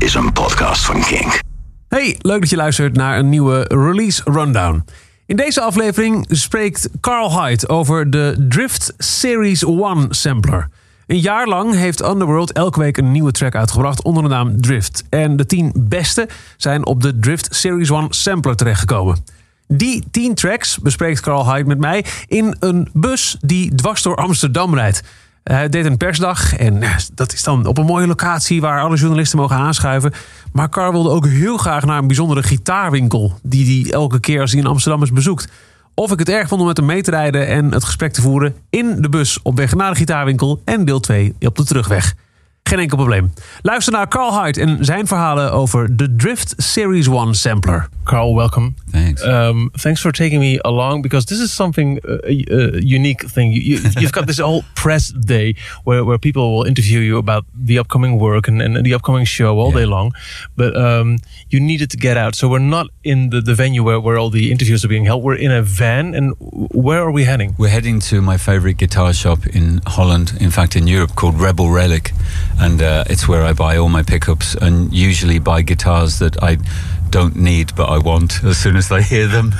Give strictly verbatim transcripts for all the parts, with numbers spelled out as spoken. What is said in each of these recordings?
is een podcast van Kink. Hey, leuk dat je luistert naar een nieuwe Release Rundown. In deze aflevering spreekt Carl Hyde over de Drift Series one sampler. Een jaar lang heeft Underworld elke week een nieuwe track uitgebracht onder de naam Drift. En de tien beste zijn op de Drift Series one sampler terechtgekomen. Die tien tracks bespreekt Carl Hyde met mij in een bus die dwars door Amsterdam rijdt. Hij deed een persdag en dat is dan op een mooie locatie waar alle journalisten mogen aanschuiven. Maar Carl wilde ook heel graag naar een bijzondere gitaarwinkel die hij elke keer als hij in Amsterdam is bezoekt. Of ik het erg vond om met hem mee te rijden en het gesprek te voeren in de bus op weg naar de gitaarwinkel en deel twee op de terugweg. Geen enkel probleem. Luister naar Carl Hyde en zijn verhalen over de Drift Series one sampler. Carl, welcome. Thanks. Um, thanks for taking me along because this is something uh, a, a unique thing. You, you, you've got this whole press day where, where people will interview you about the upcoming work and, and the upcoming show all yeah. day long. But um, you needed to get out. So we're not in the, the venue where, where all the interviews are being held. We're in a van. And where are we heading? We're heading to my favorite guitar shop in Holland, in fact in Europe, called Rebel Relic. And uh, it's where I buy all my pickups and usually buy guitars that I don't need but I want as soon as I hear them.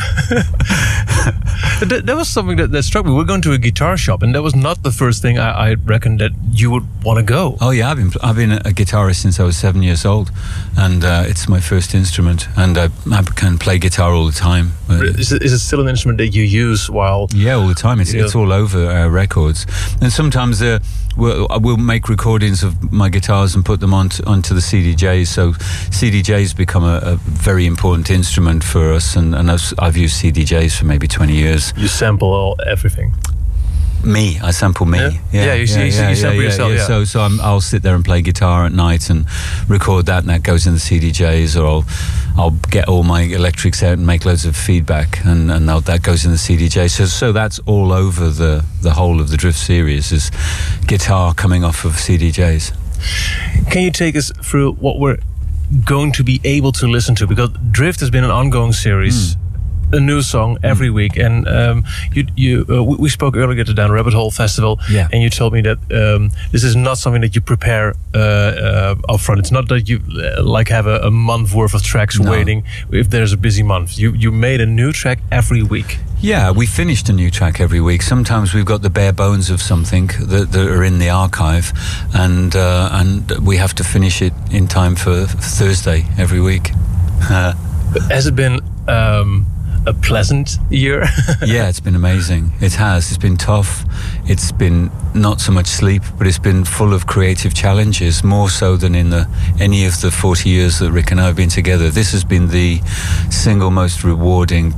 that, that was something that, that struck me. We're going to a guitar shop and that was not the first thing I, I reckoned that you would want to go. Oh yeah, I've been I've been a guitarist since I was seven years old and uh, it's my first instrument and I, I can play guitar all the time. Is it, is it still an instrument that you use while... Yeah, all the time. It's, it's all over uh, records. And sometimes uh, we'll, we'll make recordings of my guitars and put them onto, onto the C D Js. So C D Js become a, a very important instrument for us and, and I've, I've used C D Js for maybe twenty years. You sample all, everything? Me, I sample me. Yeah, yeah, yeah you, yeah, you, yeah, you sample yeah, yourself. Yeah. Yeah. So, so I'm, I'll sit there and play guitar at night and record that, and that goes in the C D Js, or I'll, I'll get all my electrics out and make loads of feedback, and, and that goes in the C D J. So, so that's all over the the whole of the Drift series is guitar coming off of C D Js. Can you take us through what we're going to be able to listen to? Because Drift has been an ongoing series. Mm. A new song every mm. week, and um, you, you, uh, we spoke earlier at the Down Rabbit Hole Festival, yeah. and you told me that um, this is not something that you prepare uh, uh, upfront. It's not that you uh, like have a, a month worth of tracks no. waiting if there's a busy month. You you made a new track every week. Yeah, we finished a new track every week. Sometimes we've got the bare bones of something that, that are in the archive, and uh, and we have to finish it in time for Thursday every week. Uh, Has it been? Um, A pleasant year? Yeah, it's been amazing. It has. It's been tough. It's been not so much sleep, but it's been full of creative challenges, more so than in the any of the forty years that Rick and I have been together. This has been the single most rewarding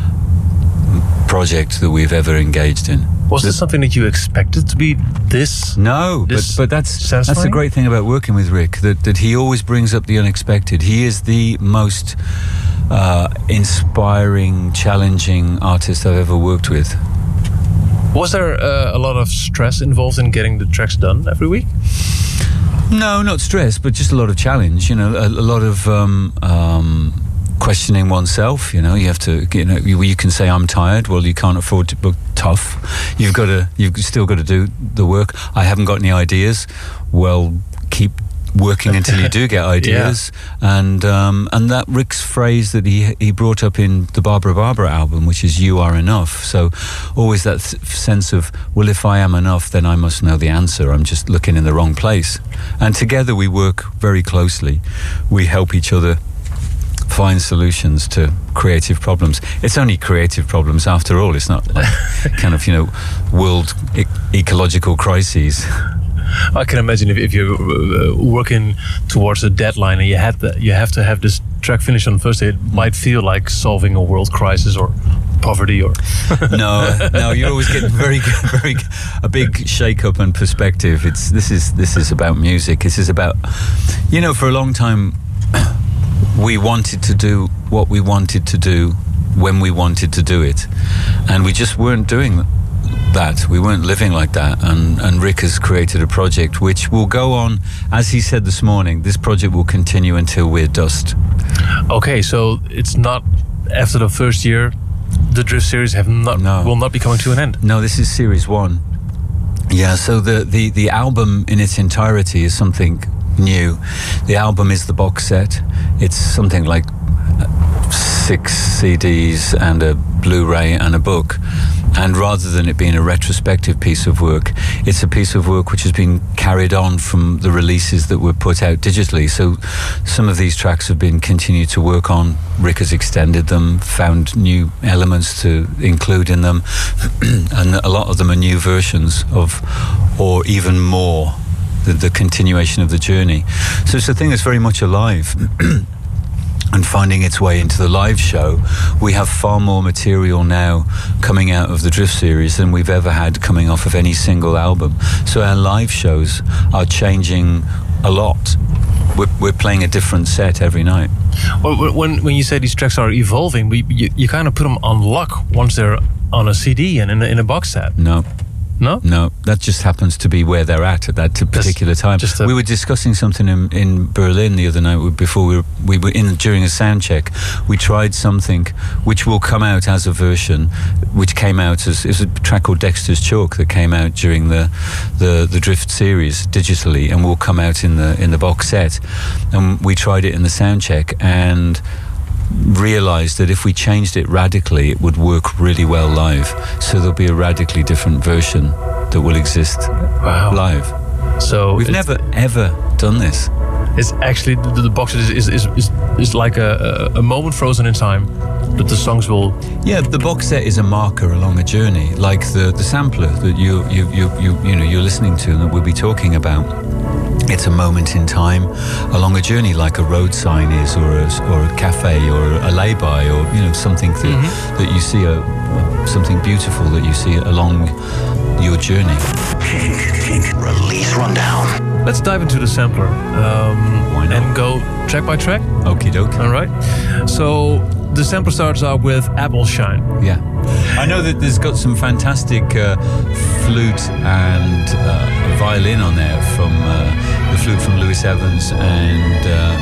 project that we've ever engaged in. Was this something that you expected to be this? No, this but but that's satisfying? That's the great thing about working with Rick, that that he always brings up the unexpected. He is the most uh, inspiring, challenging artist I've ever worked with. Was there uh, a lot of stress involved in getting the tracks done every week? No, not stress, but just a lot of challenge. You know, a, a lot of um, um, questioning oneself. You know, you have to. You know, you, you can say I'm tired. Well, you can't afford to book tough. You've got to. You've still got to do the work. I haven't got any ideas. Well, keep working until you do get ideas. Yeah. And um, and that Rick's phrase that he he brought up in the Barbara Barbara album, which is "You are enough." So always that th- sense of, well, if I am enough, then I must know the answer. I'm just looking in the wrong place. And together we work very closely. We help each other find solutions to creative problems. It's only creative problems after all. It's not like kind of, you know, world e- ecological crises. I can imagine if, if you're uh, working towards a deadline and you had the, you have to have this track finished on Thursday, it might feel like solving a world crisis or poverty or... no, no, you're always getting very, very a big shake-up and perspective. It's this is this is about music. This is about, you know, for a long time we wanted to do what we wanted to do when we wanted to do it, and we just weren't doing that. We weren't living like that, and, and Rick has created a project which will go on, as he said this morning, this project will continue until we're dust. Okay, so it's not after the first year, the Drift series have not no. will not be coming to an end. No, this is series one. Yeah, so the, the, the album in its entirety is something new. The album is the box set. It's something like six C Ds and a Blu-ray and a book. And rather than it being a retrospective piece of work, it's a piece of work which has been carried on from the releases that were put out digitally. So some of these tracks have been continued to work on. Rick has extended them, found new elements to include in them, and a lot of them are new versions of, or even more, the, the continuation of the journey. So it's a thing that's very much alive. And finding its way into the live show. We have far more material now coming out of the Drift series than we've ever had coming off of any single album. So our live shows are changing a lot. We're, we're playing a different set every night. Well, when when you say these tracks are evolving, we, you, you kind of put them on lock once they're on a C D and in a, in a box set. No. No? No, that just happens to be where they're at at that particular just, time. Just a... We were discussing something in, in Berlin the other night before we were, we were in during a sound check. We tried something which will come out as a version, which came out as, as a track called Dexter's Chalk that came out during the, the the Drift series digitally, and will come out in the in the box set. And we tried it in the sound check and realized that if we changed it radically, it would work really well live. So there'll be a radically different version that will exist wow. live. So we've never ever done this. It's actually the, the box is is, is is is like a, a moment frozen in time that the songs will. Yeah, the box set is a marker along a journey, like the the sampler that you you you you you know you're listening to and that we'll be talking about. It's a moment in time along a journey, like a road sign is, or a, or a cafe, or a lay-by, or you know something that, mm-hmm. that you see, a, something beautiful that you see along your journey. Kink, Kink Release Rundown. Let's dive into the sampler um, Why not? and go track by track. Okie doke. All right. So the sampler starts out with Apple Shine. Yeah. I know that there's got some fantastic uh, flute and uh, violin on there from uh, the flute from Lewis Evans and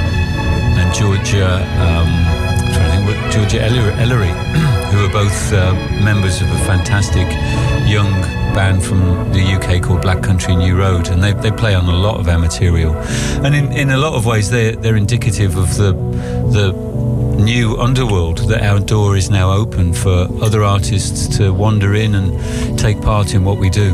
uh, and Georgia. Um, I'm trying to think what Georgia Ellery, who are both uh, members of a fantastic young band from the U K called Black Country New Road, and they they play on a lot of our material, and in, in a lot of ways they're they're indicative of the the. new underworld, that our door is now open for other artists to wander in and take part in what we do.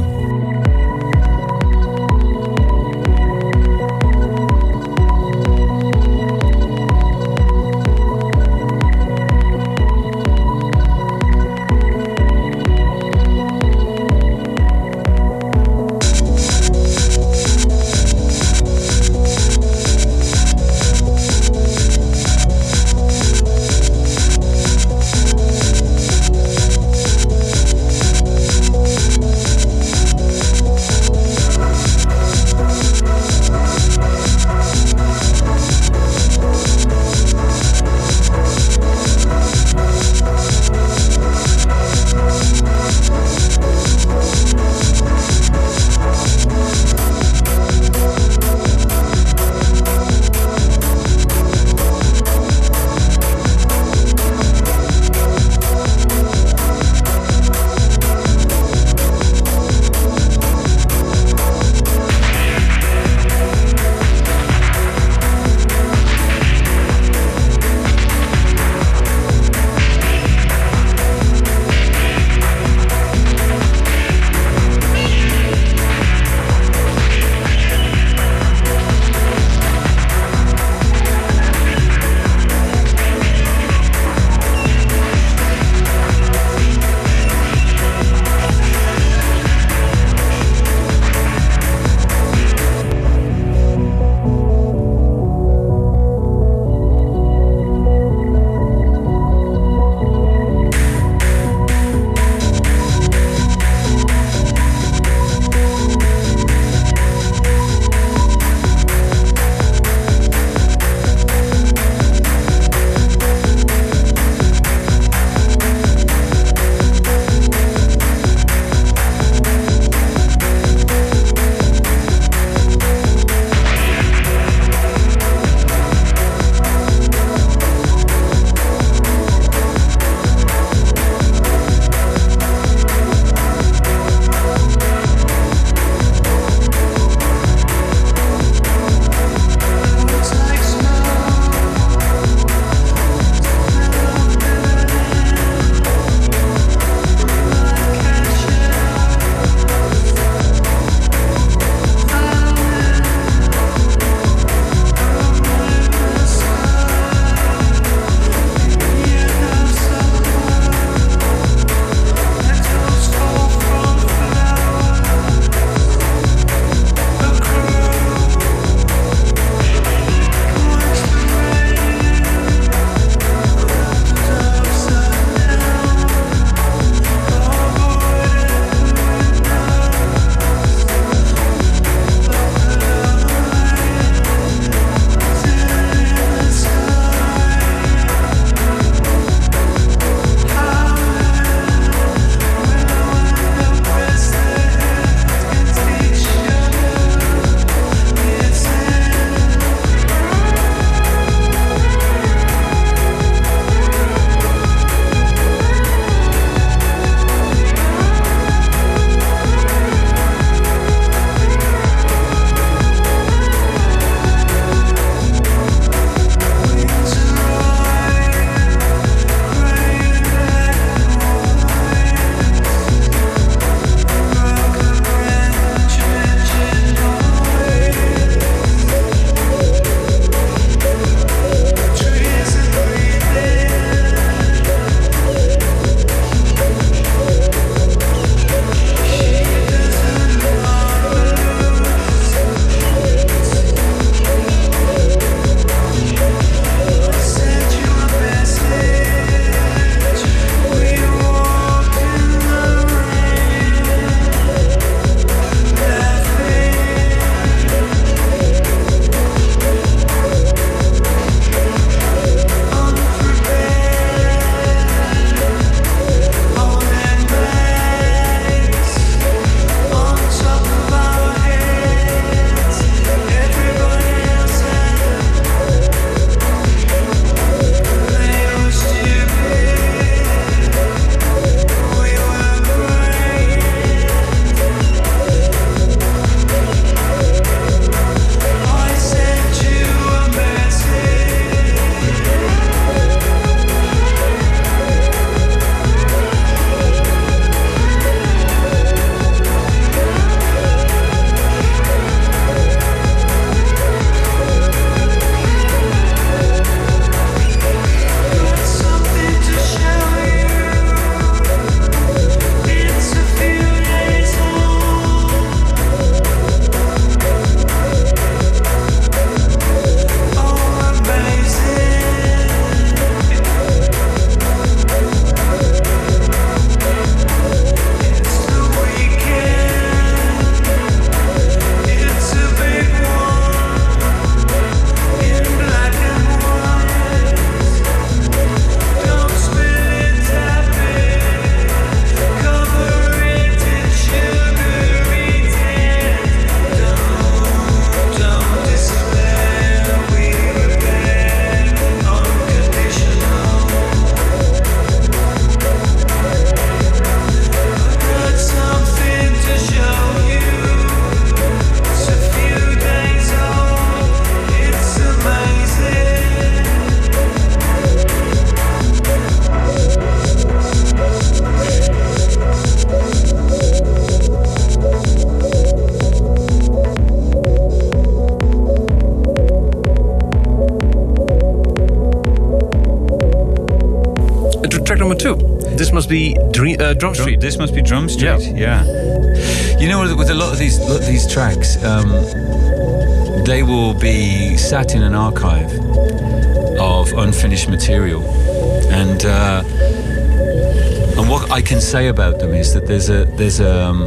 number two. This must be Dream, uh, Drum Street. This must be Drum Street. Yeah. yeah. You know, with, with a lot of these lot of these tracks, um, they will be sat in an archive of unfinished material, and uh, and what I can say about them is that there's a there's a, um,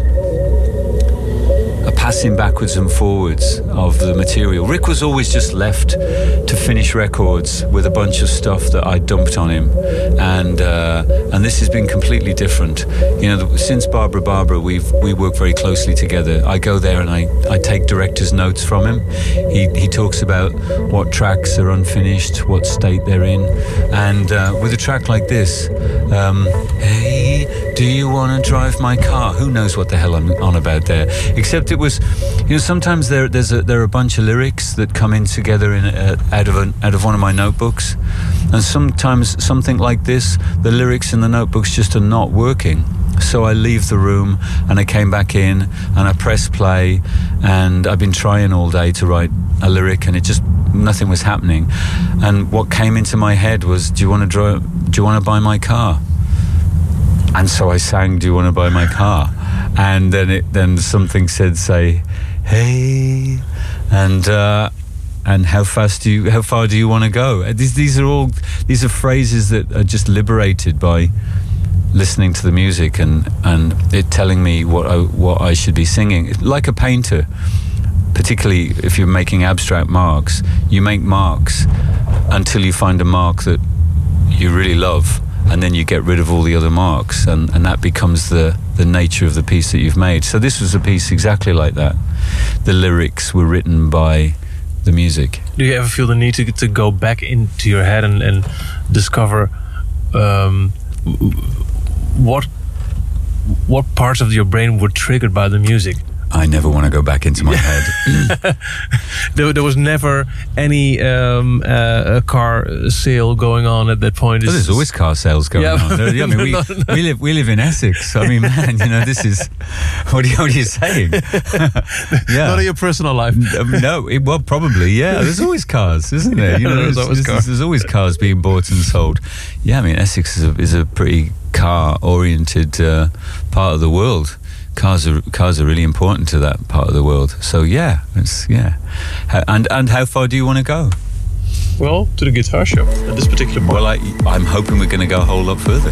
a passing backwards and forwards of the material. Rick was always just left to finish records with a bunch of stuff that I dumped on him, and uh, and this has been completely different. You know, since Barbara Barbara, we've we work very closely together. I go there and I, I take director's notes from him. He he talks about what tracks are unfinished, what state they're in, and uh, with a track like this, um, hey, do you want to drive my car? Who knows what the hell I'm on about there? Except it was, you know, sometimes there there's a, there are a bunch of lyrics that come in together in a, out of a, out of one of my notebooks, and sometimes something like this, the lyrics in the notebooks just are not working. So I leave the room and I came back in and I press play, and I've been trying all day to write a lyric and it just nothing was happening. And what came into my head was, do you want to drive? Do you want to buy my car? And so I sang, do you want to buy my car? And then it then something said, say, hey, and uh, and how fast do you, how far do you want to go? These these are all these are phrases that are just liberated by listening to the music and and it telling me what I what I should be singing. Like a painter, particularly if you're making abstract marks, you make marks until you find a mark that you really love, and then you get rid of all the other marks, and, and that becomes the, the nature of the piece that you've made. So this was a piece exactly like that. The lyrics were written by the music. Do you ever feel the need to to go back into your head and, and discover um, what what parts of your brain were triggered by the music? I never want to go back into my head. there, there was never any um, uh, a car sale going on at that point. Well, there's always car sales going Yeah. on. I mean, we, No, no. we live we live in Essex. I mean, man, you know, this is what are you, what are you saying? Yeah. Not in your personal life. Um, no, it, well, probably, yeah. There's always cars, isn't there? You know, There's always there's, cars. there's always cars being bought and sold. Yeah, I mean, Essex is a, is a pretty car-oriented uh, part of the world. Cars are cars are really important to that part of the world. So yeah, it's yeah. How, and and how far do you want to go? Well, to the guitar shop at this particular point. Well, I I'm hoping we're going to go a whole lot further.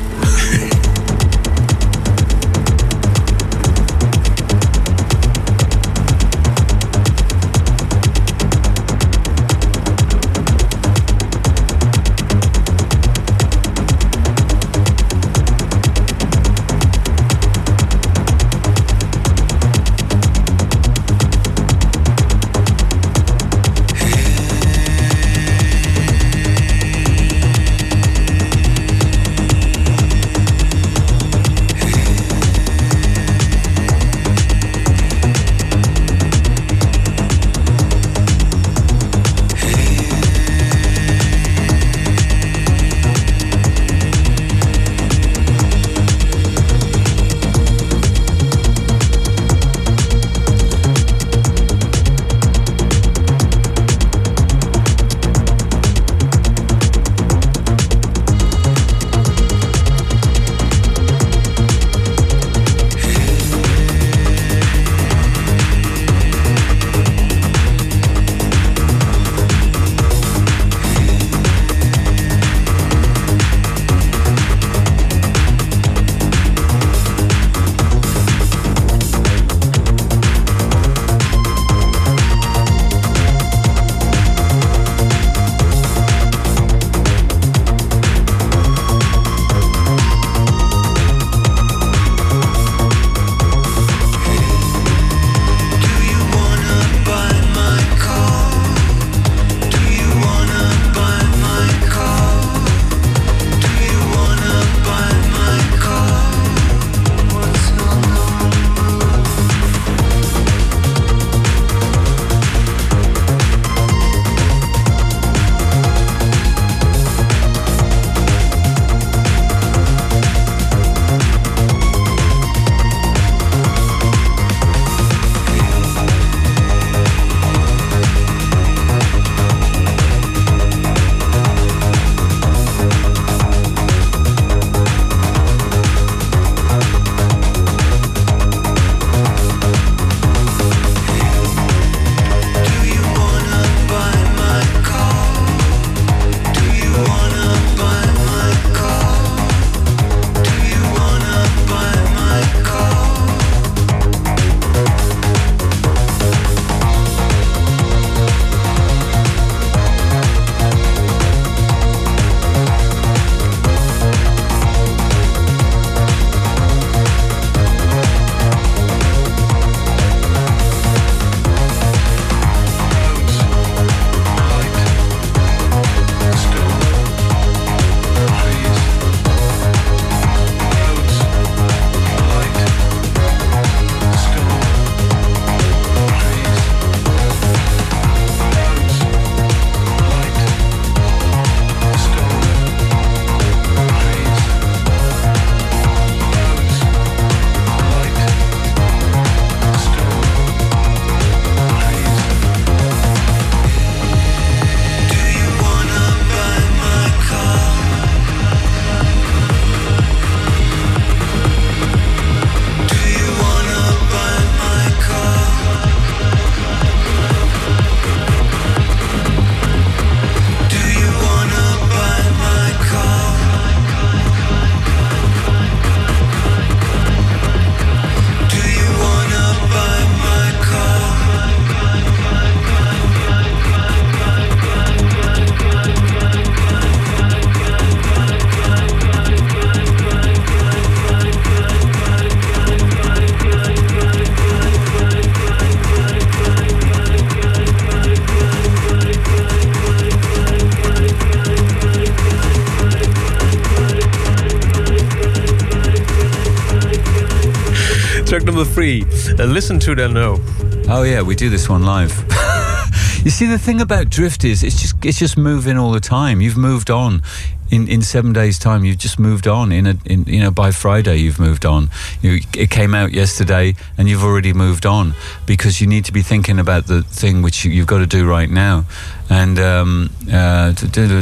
number three. Uh, listen to them know. Oh yeah, we do this one live. You see, the thing about Drift is it's just it's just moving all the time. You've moved on. In, in seven days' time, you've just moved on. In a, in you know, by Friday, you've moved on. You, it came out yesterday, and you've already moved on because you need to be thinking about the thing which you, you've got to do right now. And um, uh,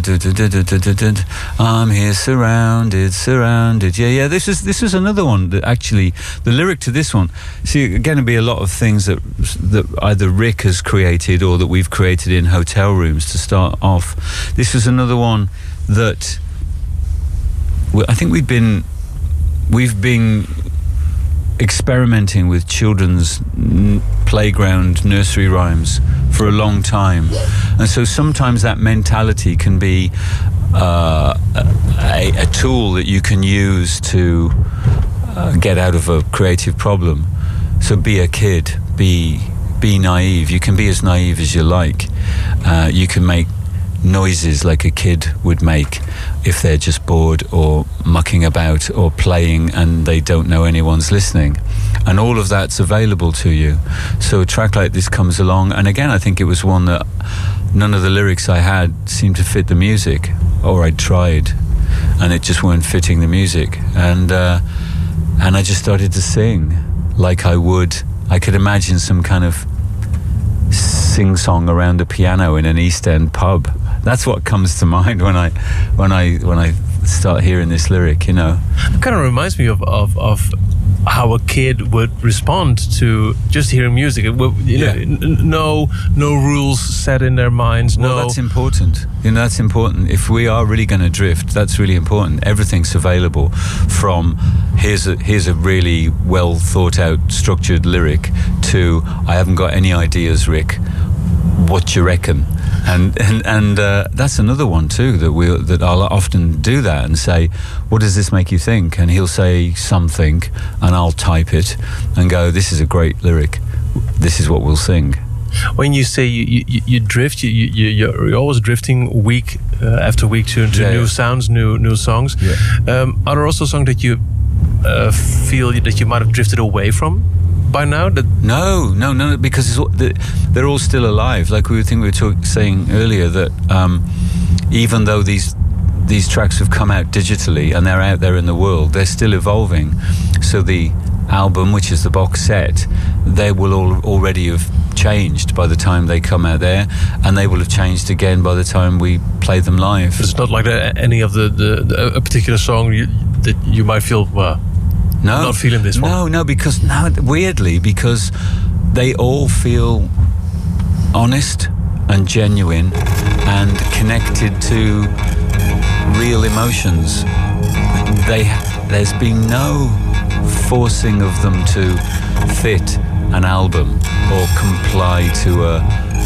I'm here, surrounded, surrounded. Yeah, yeah. This is this is another one that actually the lyric to this one. See, again, it'll be a lot of things that that either Rick has created or that we've created in hotel rooms to start off. This was another one that I think we've been we've been experimenting with children's n- playground nursery rhymes for a long time, and so sometimes that mentality can be uh, a, a tool that you can use to uh, get out of a creative problem. So be a kid, be be naive. You can be as naive as you like. Uh, you can make noises like a kid would make if they're just bored or mucking about or playing and they don't know anyone's listening, and all of that's available to you. So a track like this comes along, and again I think it was one that none of the lyrics I had seemed to fit the music, or I'd tried and it just weren't fitting the music, and uh, and I just started to sing like I would I could imagine some kind of sing-song around a piano in an East End pub. That's what comes to mind when I when I when I start hearing this lyric, you know. It kind of reminds me of, of, of how a kid would respond to just hearing music. It would, you Yeah. know, n- no no rules set in their minds. Well, no, that's important. You know, that's important. If we are really going to drift, that's really important. Everything's available, from here's a here's a really well thought out, structured lyric to I haven't got any ideas, Rick. What you reckon? And and and uh, that's another one too that we that I'll often do that and say, what does this make you think? And he'll say something, and I'll type it and go, this is a great lyric. This is what we'll sing. When you say you, you, you drift, you, you, you're always drifting week uh, after week to, to Yeah, new yeah. sounds, new new songs. Yeah. Um, are there also songs that you uh, feel that you might have drifted away from by now? That No, no, no, because it's all, the, they're all still alive. Like we were, think we were talk, saying earlier that um, even though these these tracks have come out digitally and they're out there in the world, they're still evolving. So the album, which is the box set, they will all already have changed by the time they come out there, and they will have changed again by the time we play them live. it's not like the, any of the, the, the a particular song you, that you might feel well. No, Not feeling this one. No, no, because no, weirdly, because they all feel honest and genuine and connected to real emotions. They, there's been no forcing of them to fit an album or comply to a,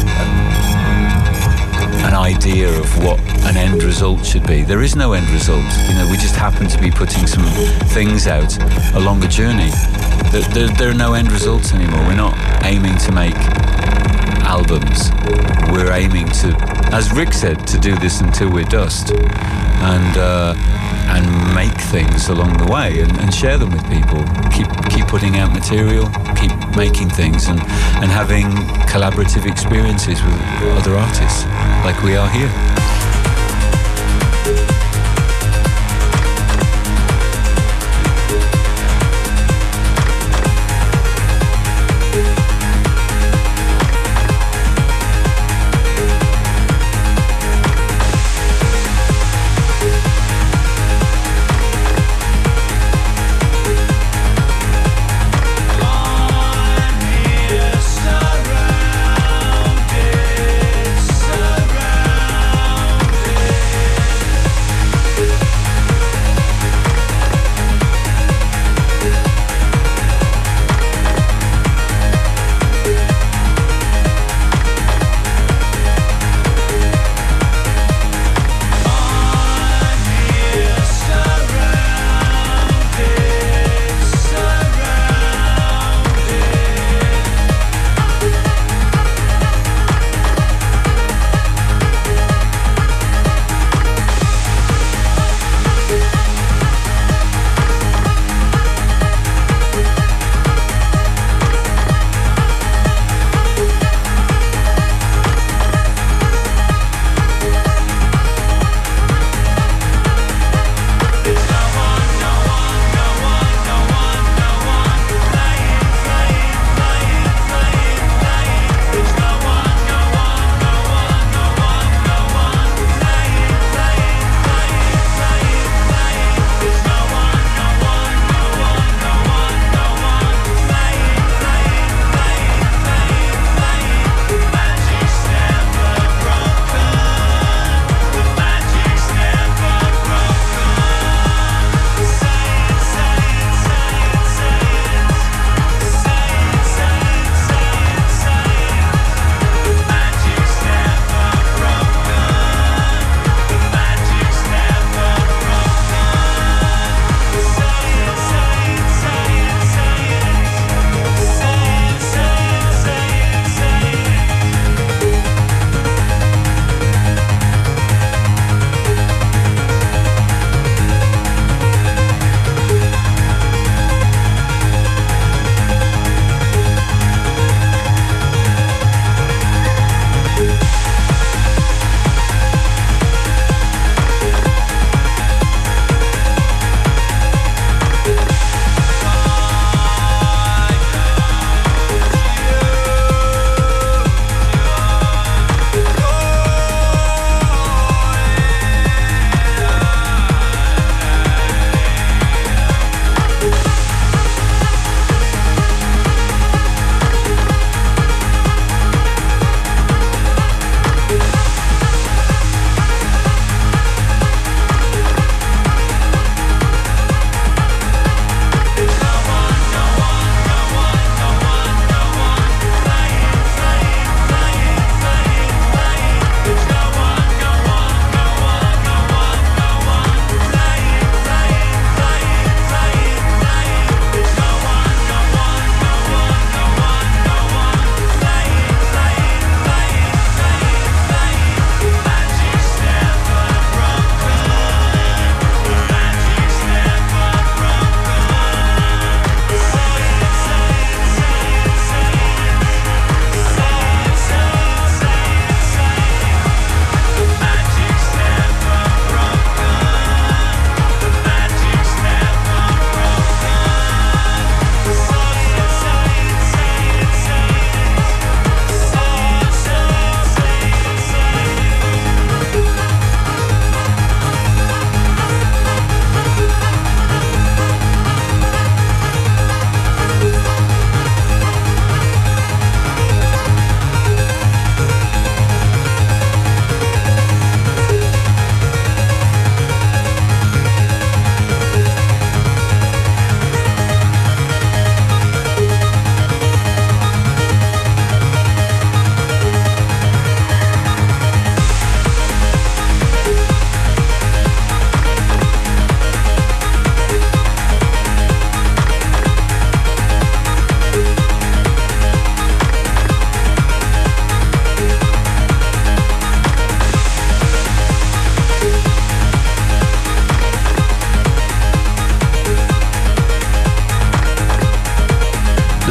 an idea of what an end result should be. There is no end result. You know, we just happen to be putting some things out along a journey. There, there, there are no end results anymore. We're not aiming to make albums. We're aiming to, as Rick said, to do this until we're dust, and uh, and make things along the way and, and share them with people. Keep keep putting out material, keep making things, and, and having collaborative experiences with other artists like we are here.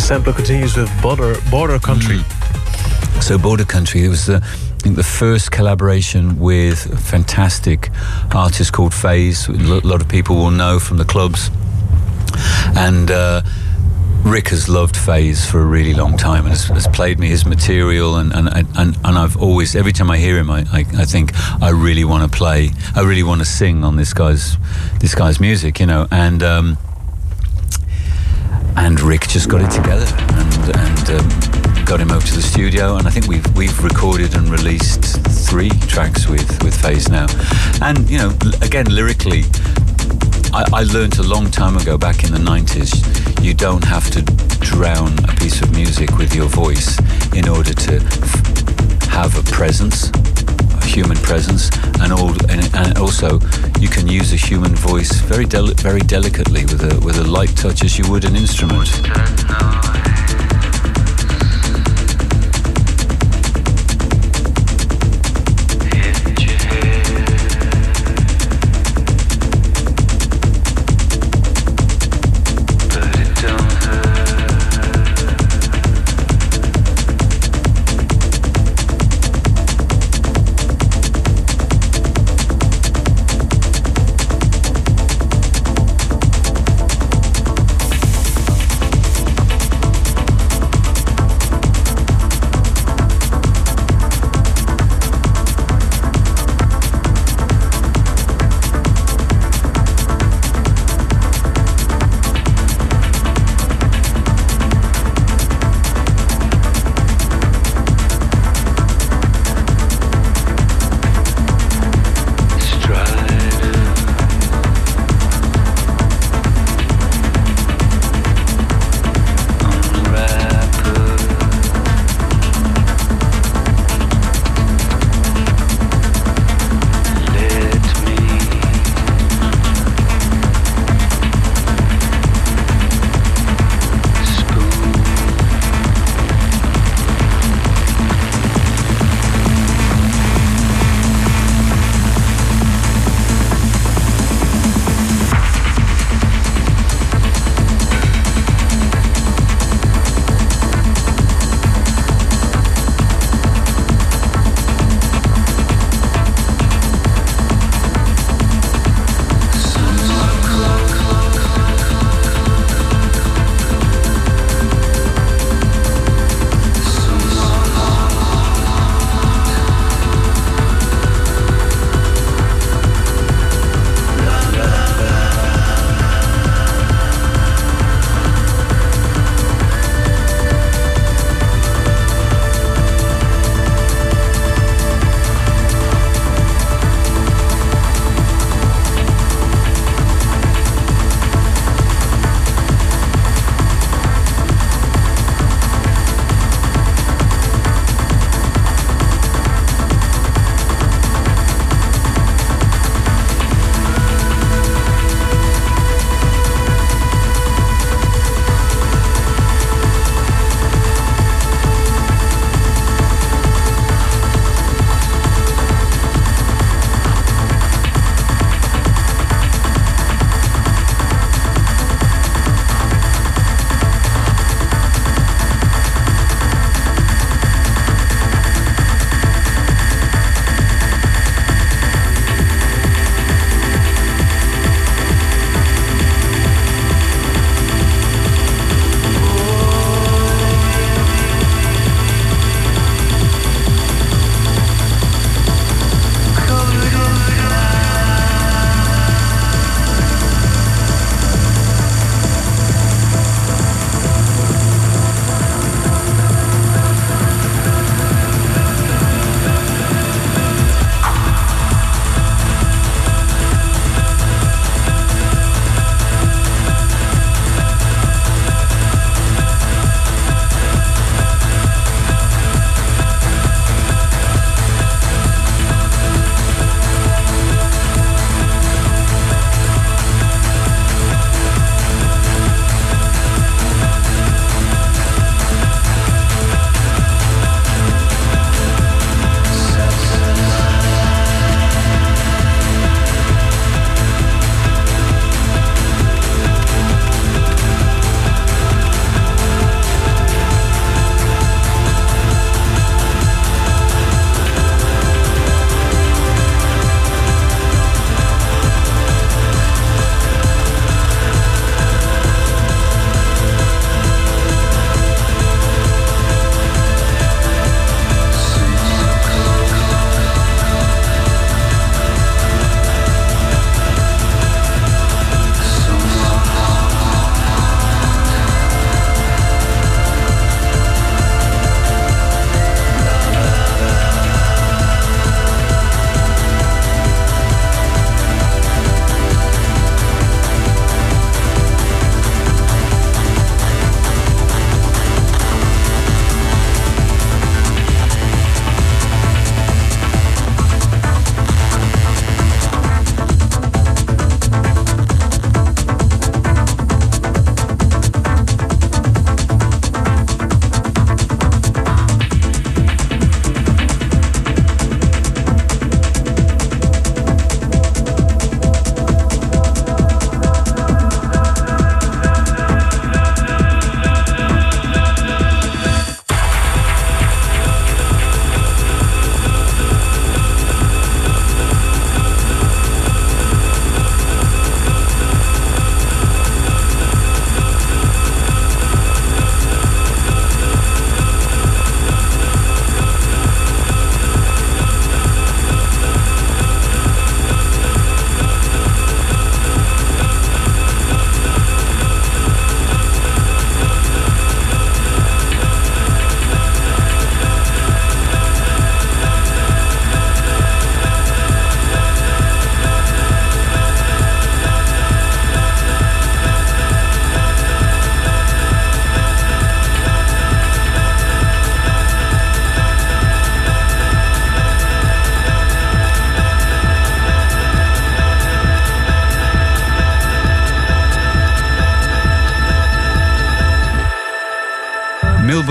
sampler continues with Border Border Country. Mm. So Border Country, it was the, I think the first collaboration with a fantastic artist called FaZe. A lot of people will know from the clubs. And uh, Rick has loved FaZe for a really long time and has, has played me his material, and, and, and, and I've always, every time I hear him, I, I, I think I really want to play, I really want to sing on this guy's this guy's music, you know, and um, and Rick just got it together and, and um, got him over to the studio, and I think we've we've recorded and released three tracks with, with FaZe now, and you know, again lyrically, I, I learned a long time ago, back in the nineties, you don't have to drown a piece of music with your voice in order to f- have a presence, a human presence, and, all, and, and also you can use a human voice very deli- very delicately with a with a light touch as you would an instrument.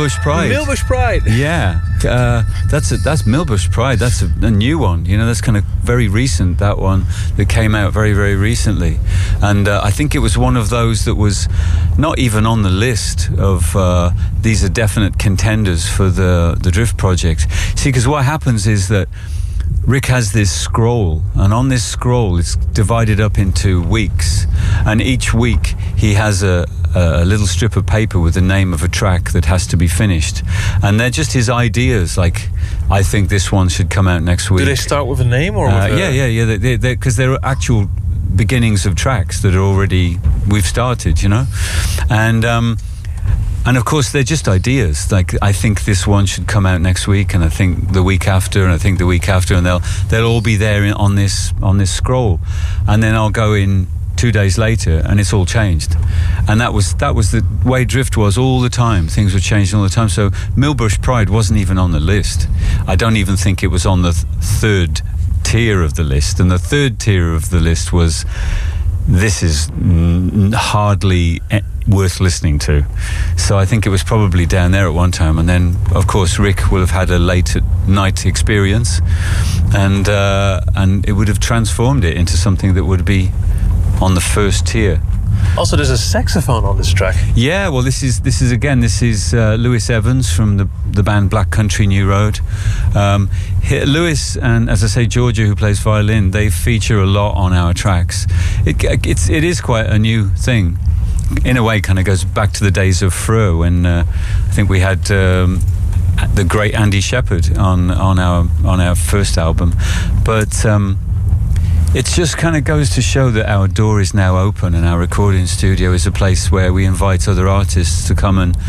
Millbush Pride. Millbush Pride. Yeah, uh, that's a, that's Millbush Pride. That's a, a new one. You know, that's kind of very recent. That one that came out very very recently, and uh, I think it was one of those that was not even on the list of uh, these are definite contenders for the the Drift project. See, because what happens is that Rick has this scroll, and on this scroll it's divided up into weeks, and each week he has a, a little strip of paper with the name of a track that has to be finished, and they're just his ideas, like, I think this one should come out next week. Do they start with a name or uh, with a... yeah yeah yeah because they, they, they're actual beginnings of tracks that are already we've started, you know, and um And of course, they're just ideas. Like, I think this one should come out next week, and I think the week after, and I think the week after, and they'll they'll all be there in, on this on this scroll, and then I'll go in two days later, and it's all changed. And that was that was the way Drift was all the time. Things were changing all the time. So Millbush Pride wasn't even on the list. I don't even think it was on the th- third tier of the list. And the third tier of the list was, this is n- hardly worth listening to. So I think it was probably down there at one time, and then of course Rick will have had a late night experience, and uh, and it would have transformed it into something that would be on the first tier. Also, there's a saxophone on this track. Yeah, well, this is this is again this is uh, Lewis Evans from the the band Black Country New Road. Um, he, Lewis and, as I say, Georgia, who plays violin, they feature a lot on our tracks. It it's it is quite a new thing. In a way, kind of goes back to the days of Frö, when uh, I think we had um, the great Andy Shepherd on on our on our first album, but. Um, It just kind of goes to show that our door is now open, and our recording studio is a place where we invite other artists to come and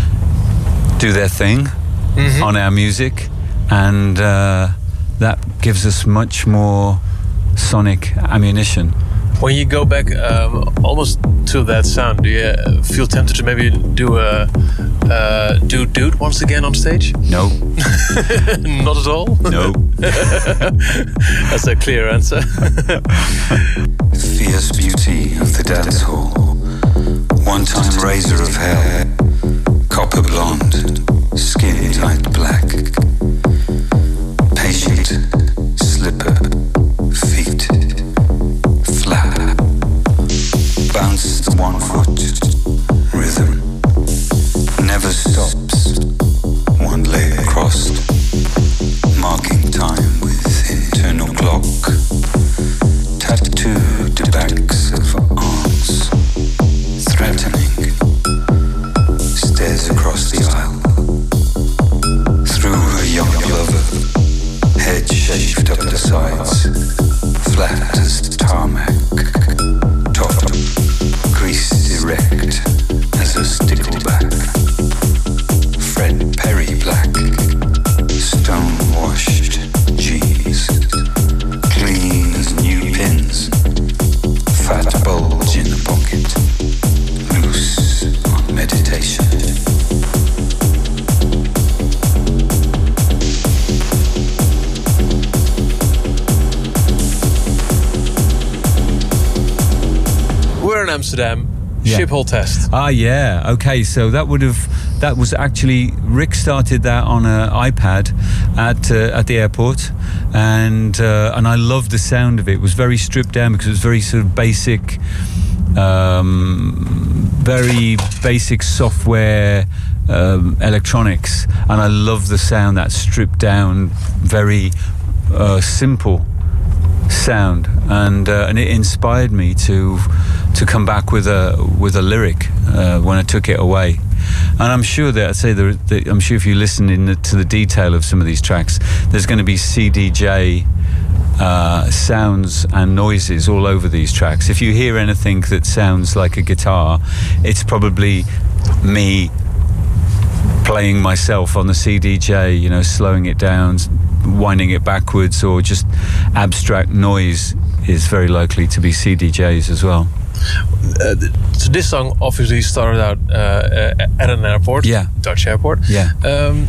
do their thing mm-hmm. on our music, and uh, that gives us much more sonic ammunition. When you go back um, almost to that sound, do you feel tempted to maybe do a uh, do Dude once again on stage? No. Not at all? No. That's a clear answer. Fierce beauty of the dance hall, one-time raiser of hair, copper blonde, skin tight black, patient slipper, feet flat, bounce the one foot rhythm, never stops, one leg crossed, marking time with internal clock, tattooed backs of arms, threatening, stares across the aisle, through her young lover, head shaved up the sides, flat as tarmac, top creased erect as a stickleback, Fred Perry black, stone-washed jeans, clean as new pins, fat bulge in the pocket, loose on meditation. We're in Amsterdam. Yeah. Schiphol test. Ah, yeah. Okay, so that would have that was actually Rick started that on an iPad at uh, at the airport, and uh, and I loved the sound of it. It was very stripped down because it was very sort of basic, um, very basic software. Um, electronics, and I love the sound, that stripped down, very uh, simple sound, and uh, and it inspired me to to come back with a with a lyric uh, when I took it away. And I'm sure that I'd say the, the, I'm sure if you listen in the, to the detail of some of these tracks, there's going to be C D J uh, sounds and noises all over these tracks. If you hear anything that sounds like a guitar, it's probably me playing myself on the C D J, you know, slowing it down, winding it backwards, or just abstract noise is very likely to be C D Js as well. Uh, so this song obviously started out uh, uh, at an airport, yeah, Dutch airport. Yeah. Um,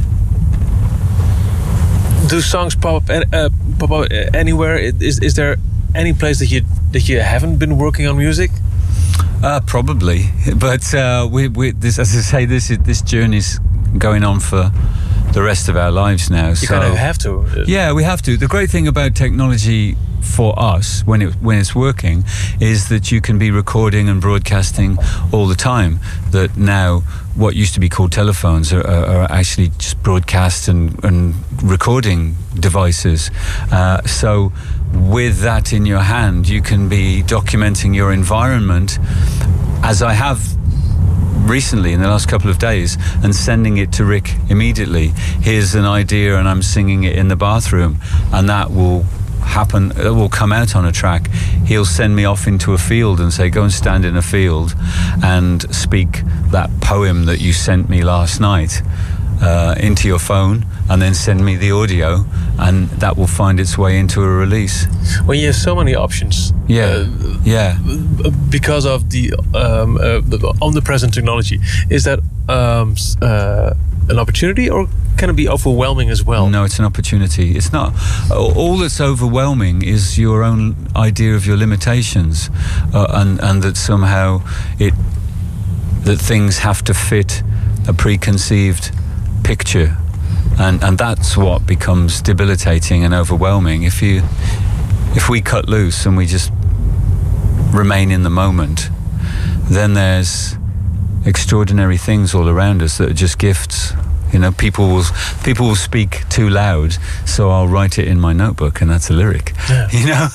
do songs pop up, uh, pop up anywhere? Is is there any place that you that you haven't been working on music? Uh, probably, but uh, we, we, this, as I say, this this journey's going on for the rest of our lives now. You so, kind of have to. Yeah, we have to. The great thing about technology for us, when it when it's working, is that you can be recording and broadcasting all the time. That now, what used to be called telephones are, are, are actually just broadcast and, and recording devices. Uh, so, with that in your hand, you can be documenting your environment, as I have recently in the last couple of days, and sending it to Rick immediately. Here's an idea and I'm singing it in the bathroom, and that will happen, it will come out on a track. He'll send me off into a field and say, go and stand in a field and speak that poem that you sent me last night uh, into your phone, and then send me the audio, and that will find its way into a release. When you have so many options, Yeah, uh, yeah. because of the, um, uh, the omnipresent technology, is that um, s- uh, an opportunity, or can it be overwhelming as well? No, it's an opportunity. It's not. All that's overwhelming is your own idea of your limitations, uh, and and that somehow it that things have to fit a preconceived picture, and and that's what becomes debilitating and overwhelming. If you if we cut loose and we just remain in the moment, then there's extraordinary things all around us that are just gifts. You know, people will people will speak too loud, so I'll write it in my notebook, and that's a lyric. Yeah. You know,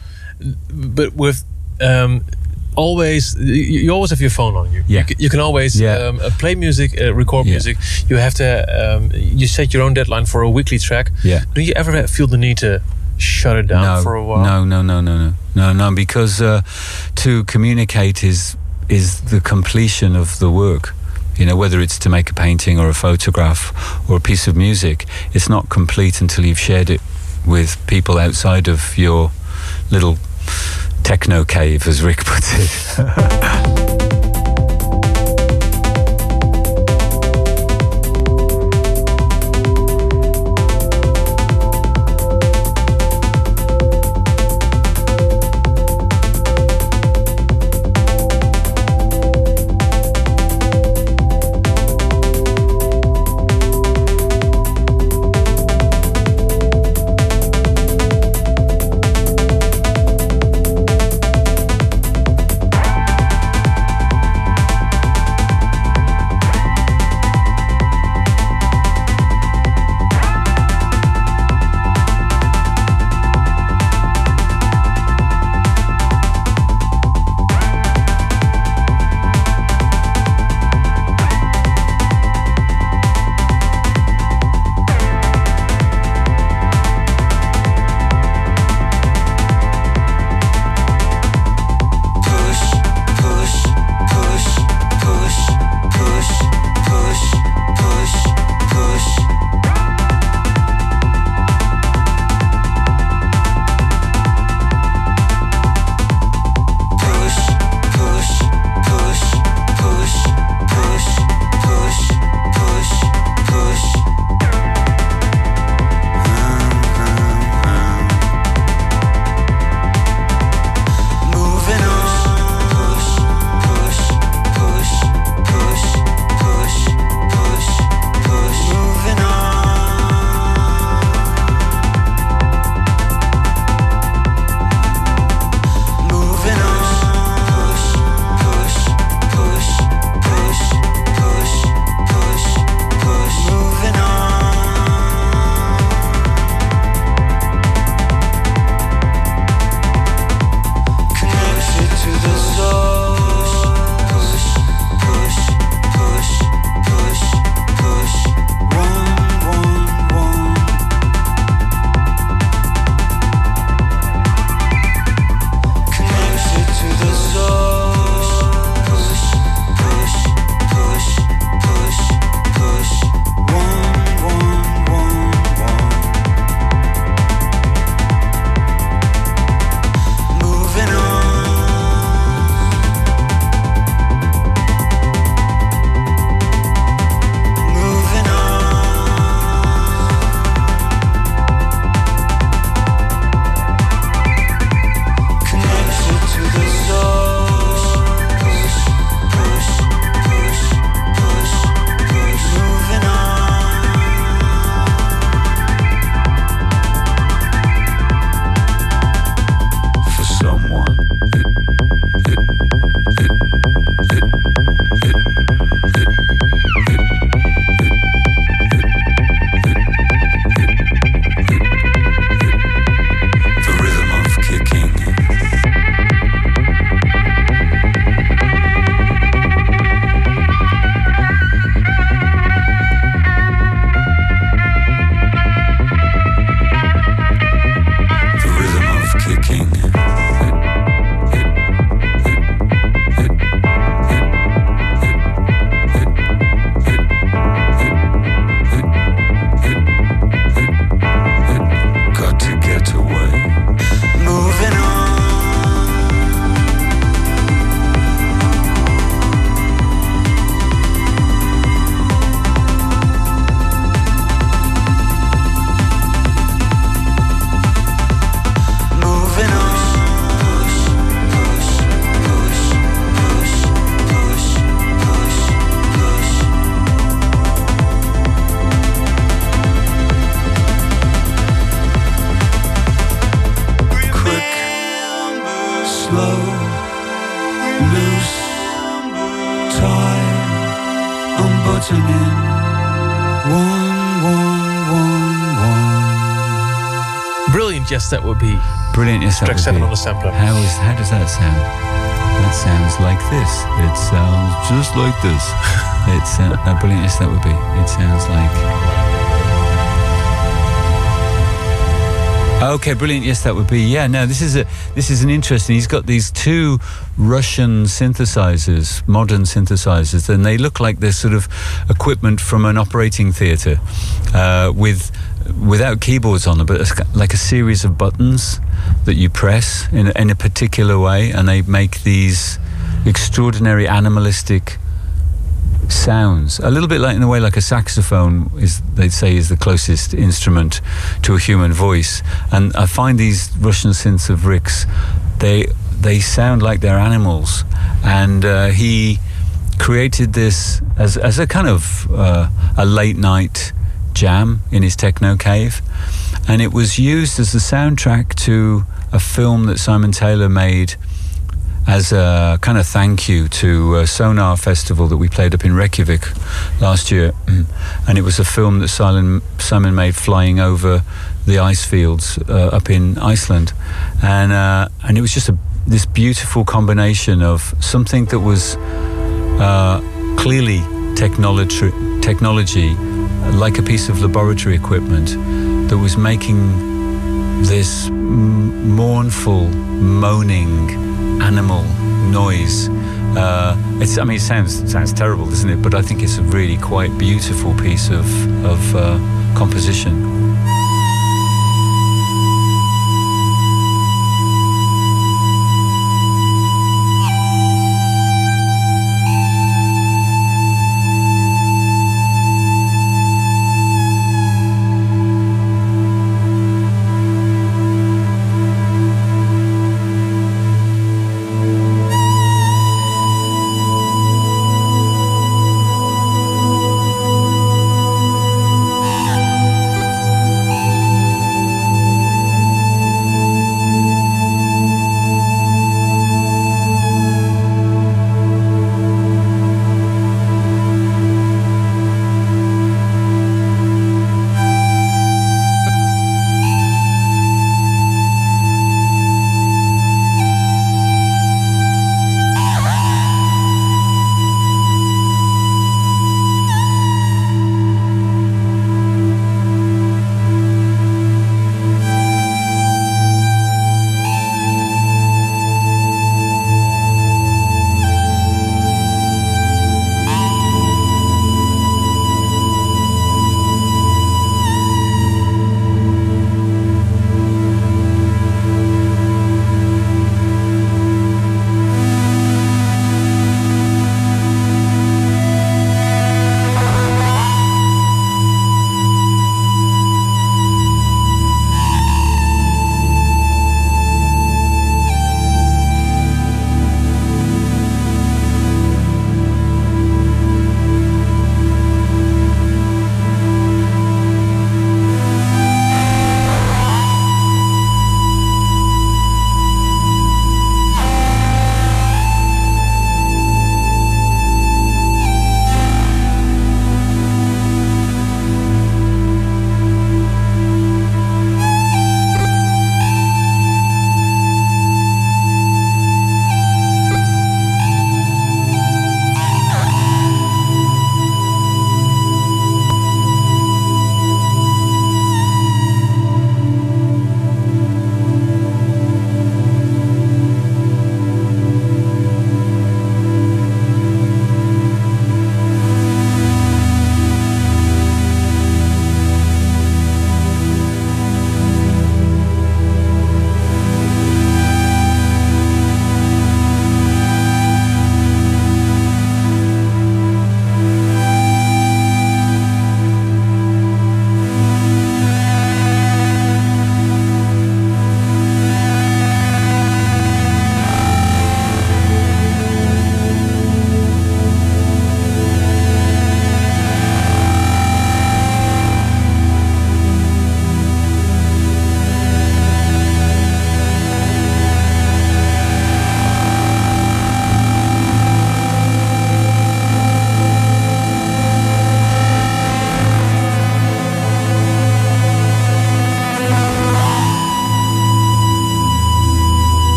But with um, always, you, you always have your phone on you. Yeah. You, c- you can always Yeah. um, uh, play music, uh, record Yeah. music. You have to. Um, you set your own deadline for a weekly track. Yeah. Do you ever feel the need to shut it down no, for a while? no, no, no, no, no, no, no, because uh, to communicate is is the completion of the work. You know, whether it's to make a painting or a photograph or a piece of music, it's not complete until you've shared it with people outside of your little techno cave, as Rick puts it. slow, loose, tight, unbuttoning. One, one, one, one. Brilliant, yes, that would be. Brilliant, yes, that Track would seven be. on the sampler. How is how does that sound? That sounds like this. It sounds just like this. It's uh, uh, brilliant, yes, that would be. It sounds like. Okay, brilliant. Yes, that would be. Yeah, no, this is a this is an interesting. He's got these two Russian synthesizers, modern synthesizers, and they look like they're sort of equipment from an operating theatre, uh, with without keyboards on them, but it's like a series of buttons that you press in in a particular way, and they make these extraordinary animalistic sounds, a little bit like in a way like a saxophone is, they'd say, is the closest instrument to a human voice. And I find these Russian synths of Rick's, they they sound like they're animals. And uh, he created this as as a kind of uh, a late night jam in his techno cave, and it was used as the soundtrack to a film that Simon Taylor made as a kind of thank you to a Sonar Festival that we played up in Reykjavik last year. And it was a film that Simon, Simon made flying over the ice fields uh, up in Iceland. And uh, and it was just a, this beautiful combination of something that was uh, clearly technology, technology, like a piece of laboratory equipment, that was making this m- mournful, moaning animal noise. Uh, it's, I mean, it sounds it sounds terrible, doesn't it? But I think it's a really quite beautiful piece of of uh, composition.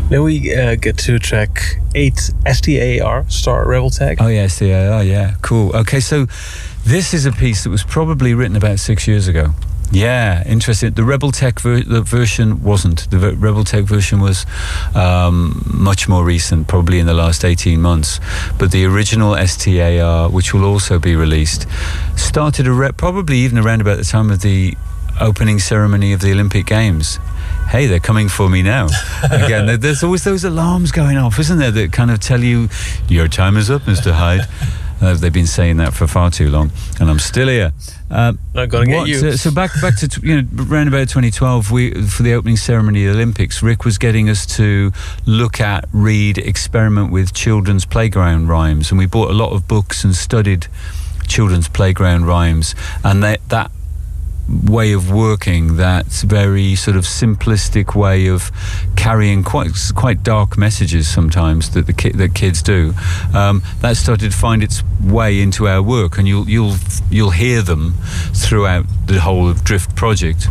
Then we uh, get to track eight, S T A R, Star Rebel Tag. Oh yeah, S T A R, yeah, cool. Okay, so this is a piece that was probably written about six years ago. Yeah, interesting. The Rebel Tech ver- the version wasn't. The v- Rebel Tech version was um, much more recent, probably in the last eighteen months. But the original S T A R, which will also be released, started a re- probably even around about the time of the opening ceremony of the Olympic Games. Hey, they're coming for me now. Again, there's always those alarms going off, isn't there, that kind of tell you, your time is up, Mister Hyde. Uh, they've been saying that for far too long, and I'm still here. Uh, Not gonna get you. Uh, so back back to t- you know around about twenty twelve, we for the opening ceremony of the Olympics, Rick was getting us to look at, read, experiment with children's playground rhymes, and we bought a lot of books and studied children's playground rhymes, and that that. way of working, that very sort of simplistic way of carrying quite quite dark messages sometimes that the ki- that kids do, um, that started to find its way into our work, and you'll you'll you'll hear them throughout the whole of Drift project.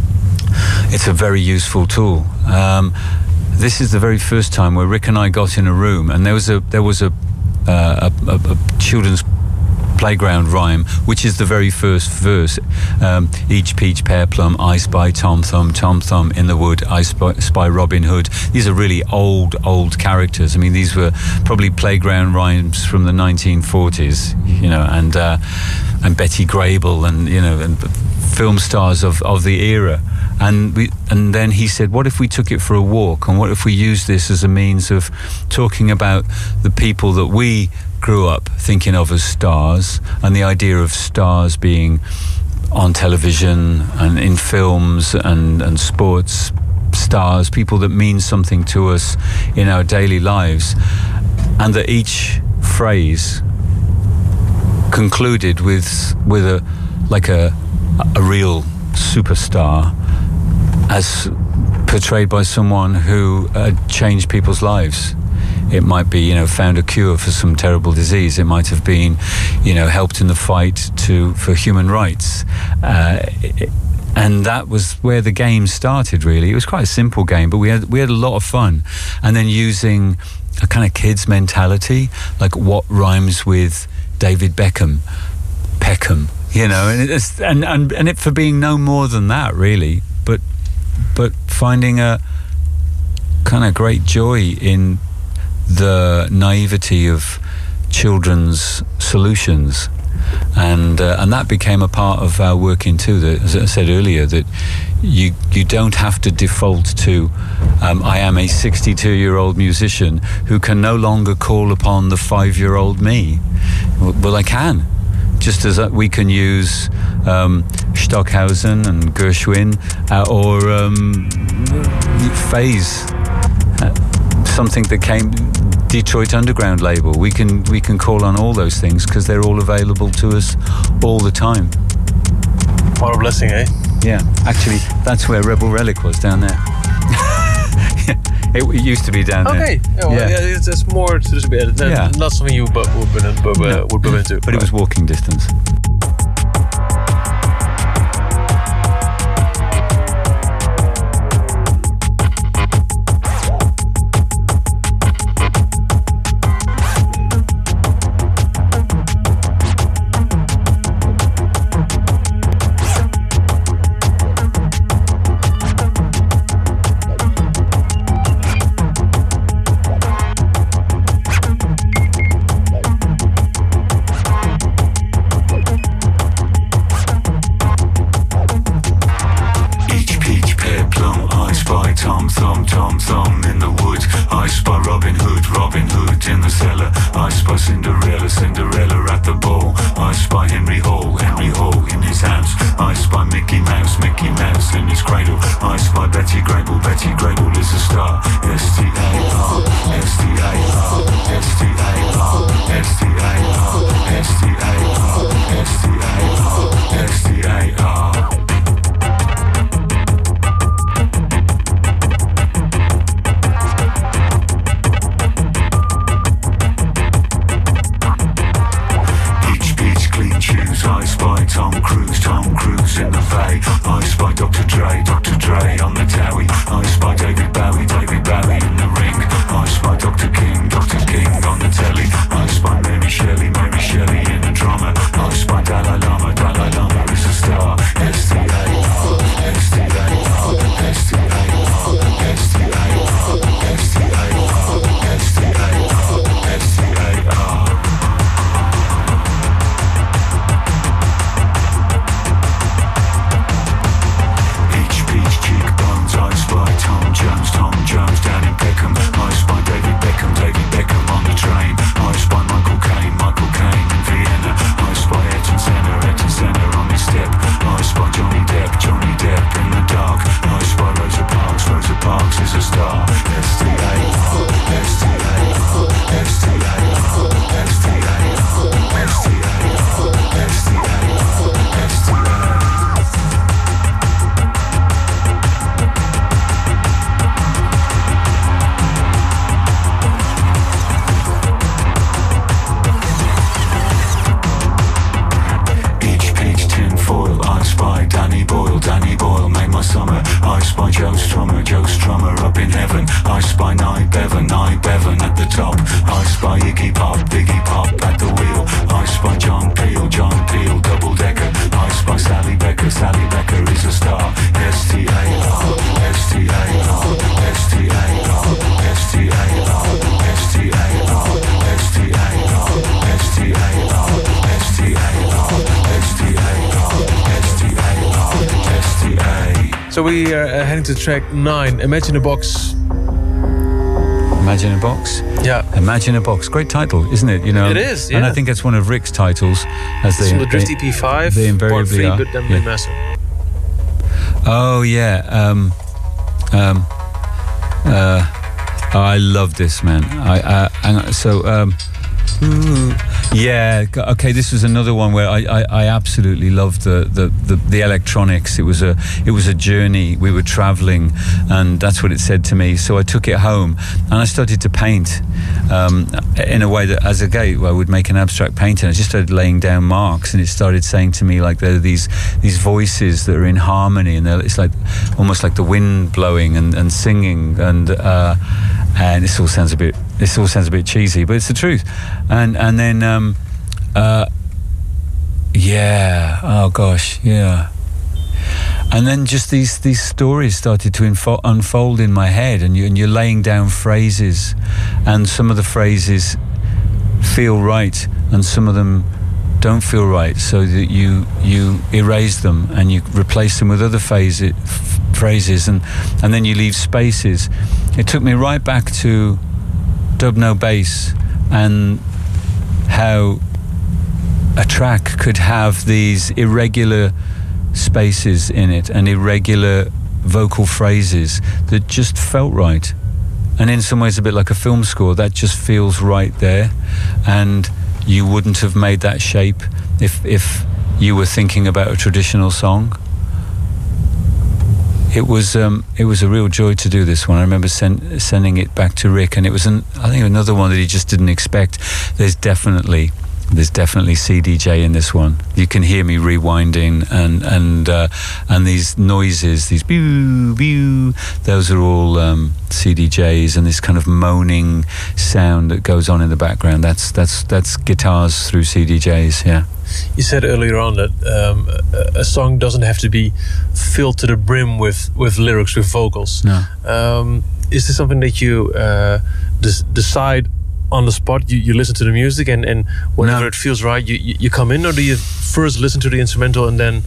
It's a very useful tool. Um, this is the very first time where Rick and I got in a room, and there was a there was a uh, a, a, a children's playground rhyme, which is the very first verse. Um, each peach, pear, plum, I spy Tom Thumb, Tom Thumb in the wood, I spy, spy Robin Hood. These are really old, old characters. I mean, these were probably playground rhymes from the nineteen forties, you know, and uh, and Betty Grable, and you know, and film stars of, of the era. And we, and then he said, what if we took it for a walk, and what if we used this as a means of talking about the people that we grew up thinking of as stars, and the idea of stars being on television and in films and, and sports stars, people that mean something to us in our daily lives, and that each phrase concluded with with a like a a real superstar, as portrayed by someone who had changed people's lives. It might be, you know, found a cure for some terrible disease. It might have been, you know, helped in the fight to for human rights. Uh, it, and that was where the game started, really. It was quite a simple game, but we had we had a lot of fun. And then using a kind of kids mentality, like what rhymes with David Beckham, Peckham, you know, and it's and, and, and it for being no more than that, really. But but finding a kind of great joy in the naivety of children's solutions, and uh, and that became a part of our working too. That, as I said earlier, that you you don't have to default to um, I am a sixty-two-year-old musician who can no longer call upon the five-year-old me. Well, well I can. Just as we can use um, Stockhausen and Gershwin uh, or um, Phase, uh, something that came Detroit Underground label. We can we can call on all those things because they're all available to us all the time. What a blessing, eh? Yeah, actually, that's where Rebel Relic was, down there. It used to be down okay. there. Yeah, well, yeah. yeah it's, it's more to this bit. That's yeah. Not something you but would been but, uh, would been into. But it was walking distance. So we are uh, heading to track nine, Imagine a Box. Imagine a Box. Yeah. Imagine a Box. Great title, isn't it? You know. It is, yeah. And I think it's one of Rick's titles. As It's they, from the Drift they, E P five, they invariably part three, are. but then Yeah. remastered. Oh yeah. Um, um, uh, oh, I love this, man. I uh, and so um, ooh, yeah. g- Okay, this was another one where I, I, I absolutely loved the, the, the, the electronics. It was a it was a journey. We were traveling, and that's what it said to me. So I took it home and I started to paint um, in a way that, as a gay, I would make an abstract painting. I just started laying down marks, and it started saying to me like there are these these voices that are in harmony, and they're- it's like almost like the wind blowing and, and singing, and uh, and this all sounds a bit this all sounds a bit cheesy, but it's the truth. And and then um, uh, yeah, oh gosh, yeah. And then just these these stories started to info- unfold in my head, and, you, and you're laying down phrases, and some of the phrases feel right, and some of them don't feel right, so that you you erase them and you replace them with other phase, f- phrases, and and then you leave spaces. It took me right back to Dub No Bass, and how a track could have these irregular spaces in it and irregular vocal phrases that just felt right. And in some ways a bit like a film score, that just feels right there, and you wouldn't have made that shape if if you were thinking about a traditional song. It was um, it was a real joy to do this one. I remember send, sending it back to Rick, and it was an, I think another one that he just didn't expect. There's definitely There's definitely C D J in this one. You can hear me rewinding, and and uh, and these noises, these pew pew. Those are all um, C D Js, and this kind of moaning sound that goes on in the background. That's that's that's guitars through C D Js. Yeah. You said earlier on that um, a, a song doesn't have to be filled to the brim with, with lyrics, with vocals. No. Um, is this something that you uh, des- decide on the spot? You, you listen to the music, and, and whenever No. it feels right, you, you, you come in, or do you first listen to the instrumental and then...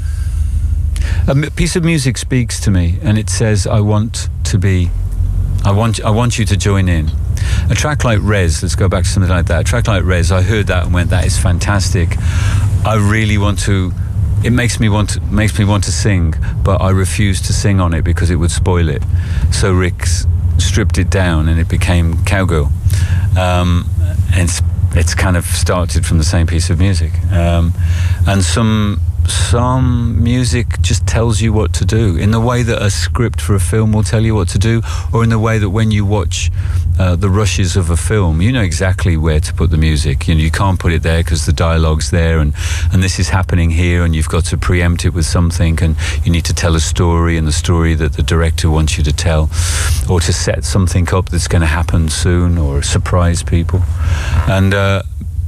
A m- piece of music speaks to me, and it says, "I want to be, I want, I want you to join in." A track like Res, let's go back to something like that. A track like Res, I heard that and went, "That is fantastic. I really want to." It makes me want to, makes me want to sing, but I refuse to sing on it because it would spoil it. So Rick s- stripped it down, and it became Cowgirl. Um, and it's, it's kind of started from the same piece of music. Um, and some. Some music just tells you what to do, in the way that a script for a film will tell you what to do, or in the way that when you watch uh, the rushes of a film, you know exactly where to put the music. You know, you can't put it there because the dialogue's there, and, and this is happening here, and you've got to preempt it with something, and you need to tell a story, and the story that the director wants you to tell, or to set something up that's going to happen soon, or surprise people. And uh,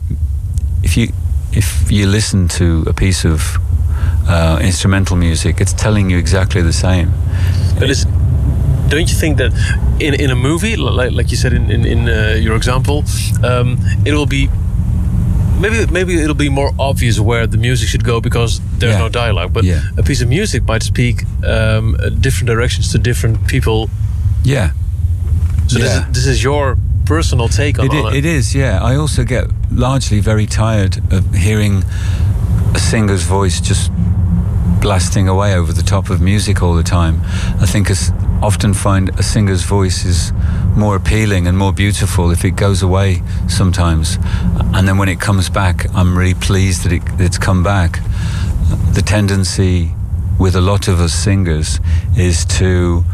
if you if you listen to a piece of uh, instrumental music, it's telling you exactly the same. But is, don't you think that in, in a movie, like, like you said in, in, in uh, your example, um, it will be... Maybe maybe it'll be more obvious where the music should go because there's Yeah. no dialogue. But Yeah. a piece of music might speak um, uh, different directions to different people. Yeah. So this, Yeah. is, this is your personal take on, It, on i- it. it is, yeah. I also get largely very tired of hearing a singer's voice just blasting away over the top of music all the time. I think I often find a singer's voice is more appealing and more beautiful if it goes away sometimes. And then when it comes back, I'm really pleased that it, it's come back. The tendency with a lot of us singers is to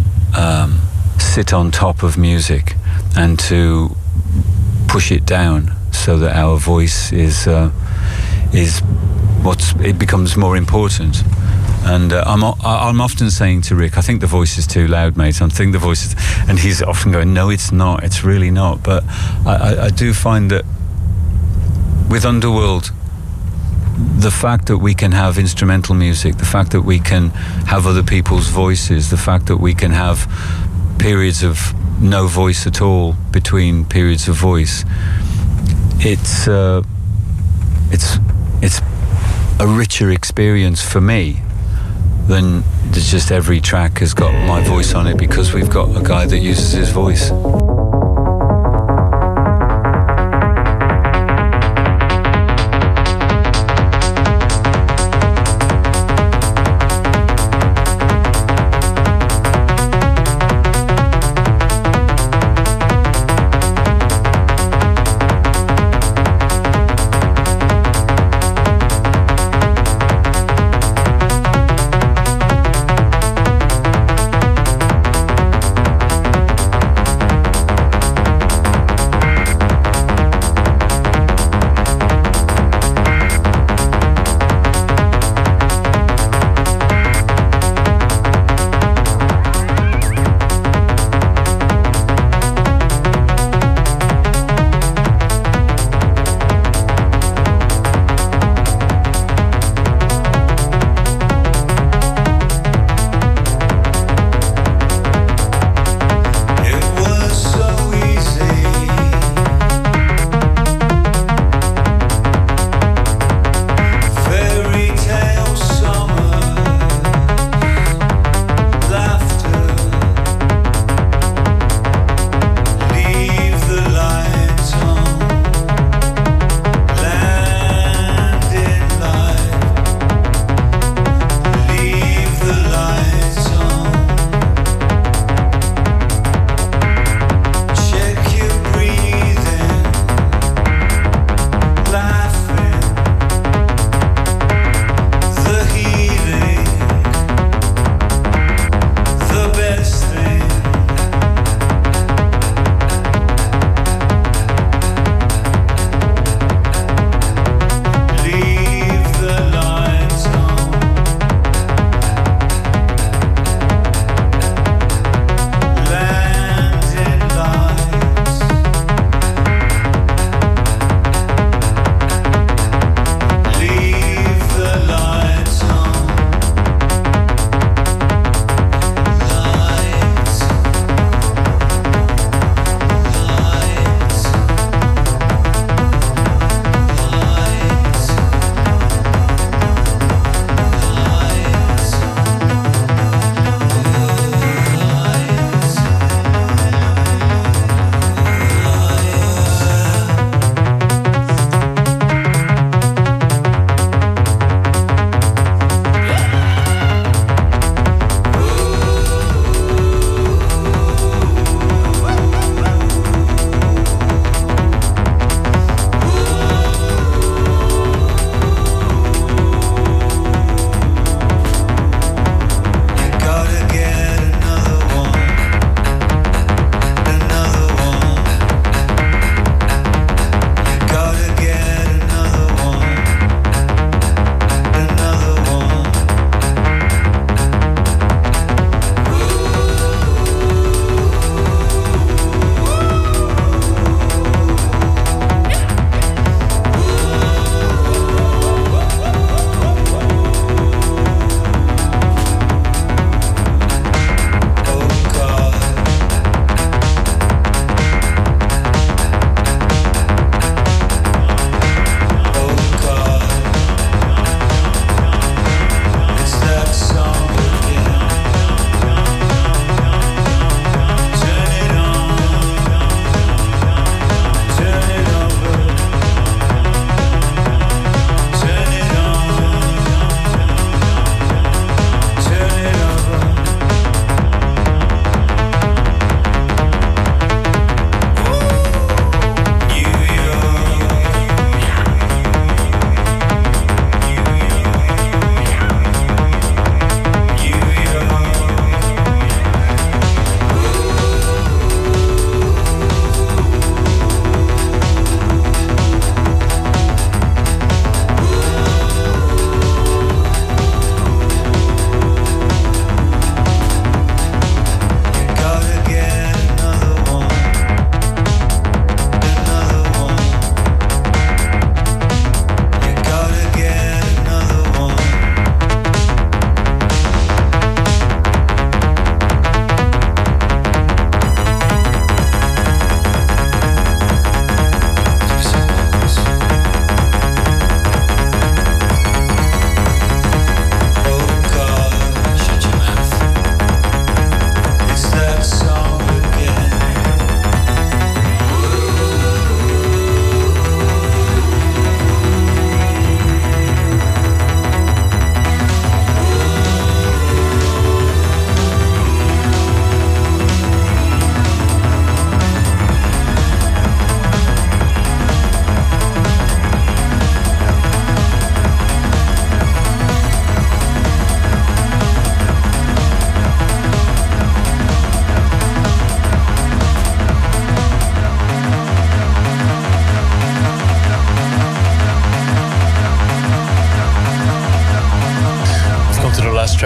um, sit on top of music and to push it down so that our voice is uh, is what's it becomes more important. And uh, I'm I'm often saying to Rick, I think the voice is too loud, mate. I think the voice is, and he's often going, no, it's not. It's really not. But I, I, I do find that with Underworld, the fact that we can have instrumental music, the fact that we can have other people's voices, the fact that we can have periods of no voice at all between periods of voice, it's uh, it's it's a richer experience for me then there's just every track has got my voice on it because we've got a guy that uses his voice.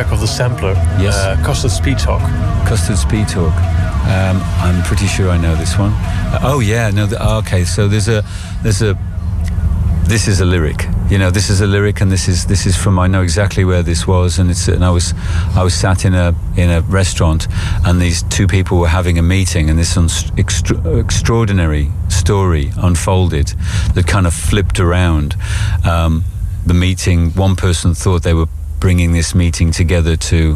track of the sampler. Yes. Uh, Custard Speed Talk. Custard Speed Talk. Um, I'm pretty sure I know this one. Uh, oh yeah, no. The, okay, so there's a there's a this is a lyric. You know, this is a lyric, and this is this is from. I know exactly where this was, and it's and I was I was sat in a in a restaurant, and these two people were having a meeting, and this extra, extraordinary story unfolded that kind of flipped around. Um, the meeting. One person thought they were bringing this meeting together to.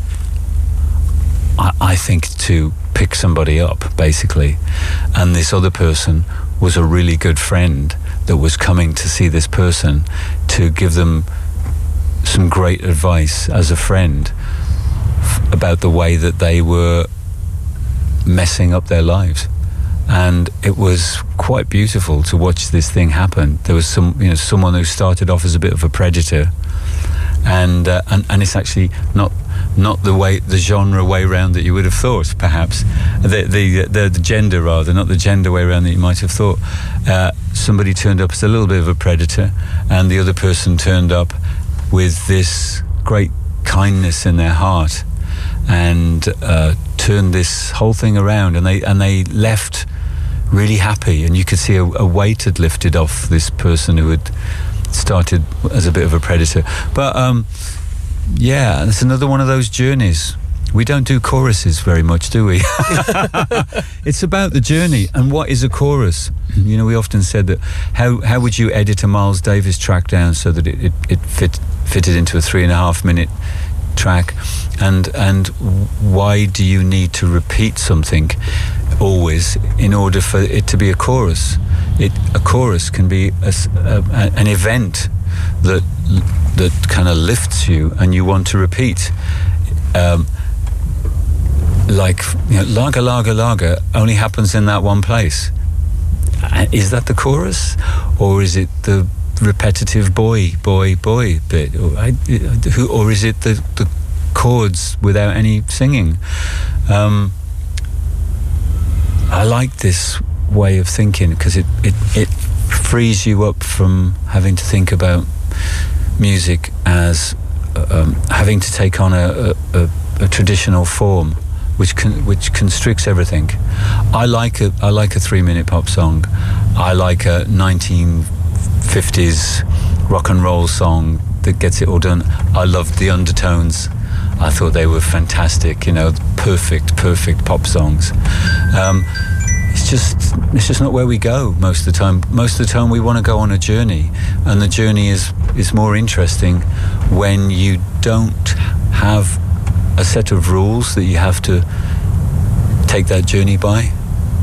I, I think to pick somebody up, basically, and this other person was a really good friend that was coming to see this person to give them some great advice as a friend f- about the way that they were messing up their lives. And it was quite beautiful to watch this thing happen. There was some, you know, someone who started off as a bit of a predator, and uh, and, and it's actually not not the way the genre way round that you would have thought, perhaps the the the, the gender rather, not the gender way round that you might have thought. Uh, somebody turned up as a little bit of a predator, and the other person turned up with this great kindness in their heart, and uh, turned this whole thing around, and they and they left really happy, and you could see a, a weight had lifted off this person who had started as a bit of a predator. But um, yeah, it's another one of those journeys. We don't do choruses very much, do we? It's about the journey. And what is a chorus? You know, we often said that how how would you edit a Miles Davis track down so that it, it, it fit fitted into a three and a half minute track, and and why do you need to repeat something always in order for it to be a chorus? It a chorus can be a, a, an event that that kind of lifts you and you want to repeat. Um, like, you know, lager, lager, lager only happens in that one place. Is that the chorus, or is it the repetitive boy, boy, boy bit, or, I, who, or is it the, the chords without any singing? Um, I like this way of thinking because it, it, it frees you up from having to think about music as um, having to take on a, a, a traditional form, which con, which constricts everything. I like a I like a three minute pop song. I like a nineteen fifties rock and roll song that gets it all done. I loved the Undertones. I thought they were fantastic. You know, perfect, perfect pop songs. Um, it's just it's just not where we go most of the time. Most of the time we want to go on a journey, and the journey is is more interesting when you don't have a set of rules that you have to take that journey by.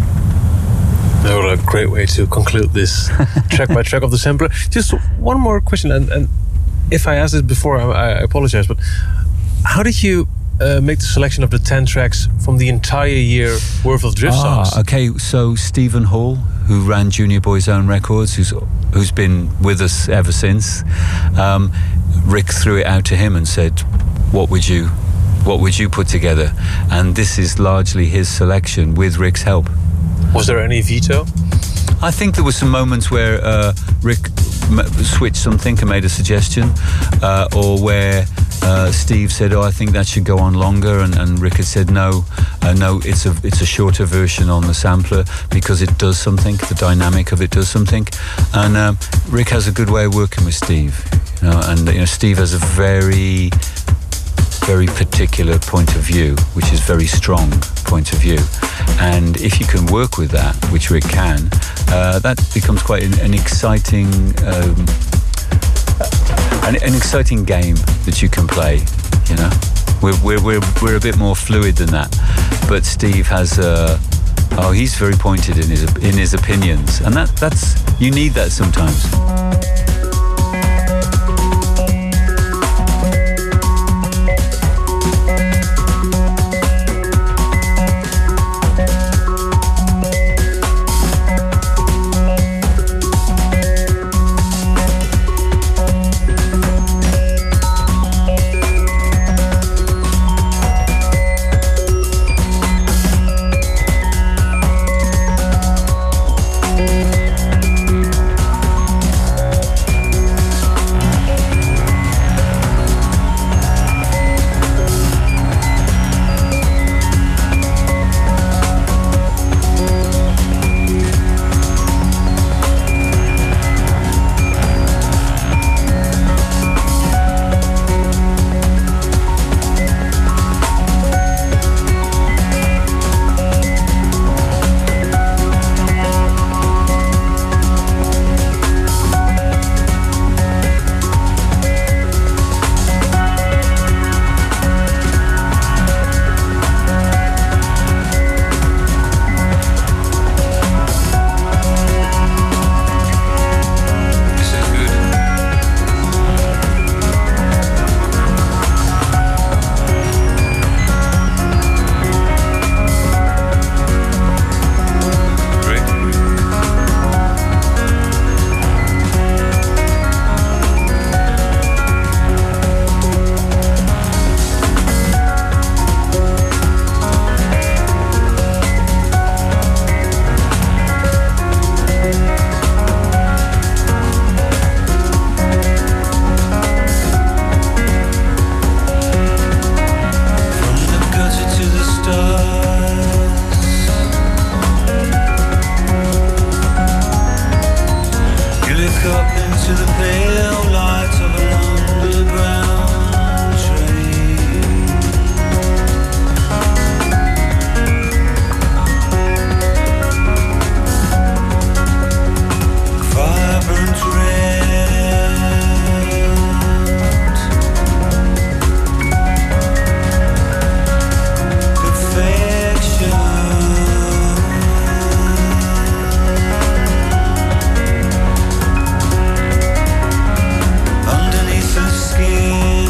What a great way to conclude this track by track of the sampler. Just one more question, and, and if I asked it before, I, I apologize, but how did you uh, make the selection of the ten tracks from the entire year worth of Drift ah, songs? Okay, so Stephen Hall, who ran Junior Boy's Own Records, who's who's been with us ever since, um, Rick threw it out to him and said, what would you what would you put together? And this is largely his selection with Rick's help. Was there any veto? I think there were some moments where uh, Rick m- switched something and made a suggestion, uh, or where uh, Steve said, "Oh, I think that should go on longer," and, and Rick had said, "No, uh, no, it's a it's a shorter version on the sampler because it does something. The dynamic of it does something." And um, Rick has a good way of working with Steve, you know, and you know, Steve has a very very particular point of view, which is very strong point of view, and if you can work with that, which Rick can, uh, that becomes quite an, an exciting um, an, an exciting game that you can play. You know, we're we're we're, we're a bit more fluid than that, but Steve has uh, oh he's very pointed in his in his opinions, and that that's you need that sometimes. Look up into the pale light of an underground train. Vibrant red, perfection. Underneath the skin,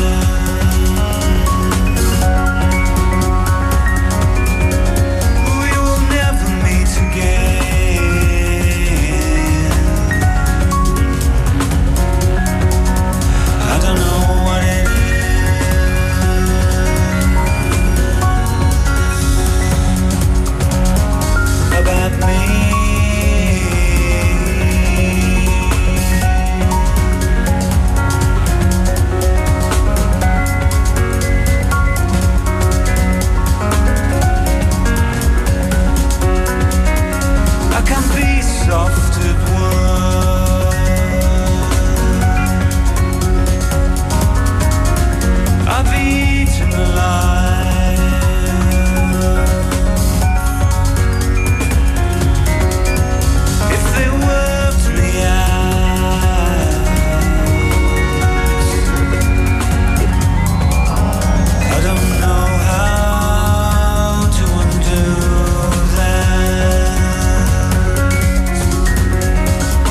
we will never meet again. I don't know what it is about me. I can be soft at work. I've eaten alive. If they worked me out, I don't know how to undo that.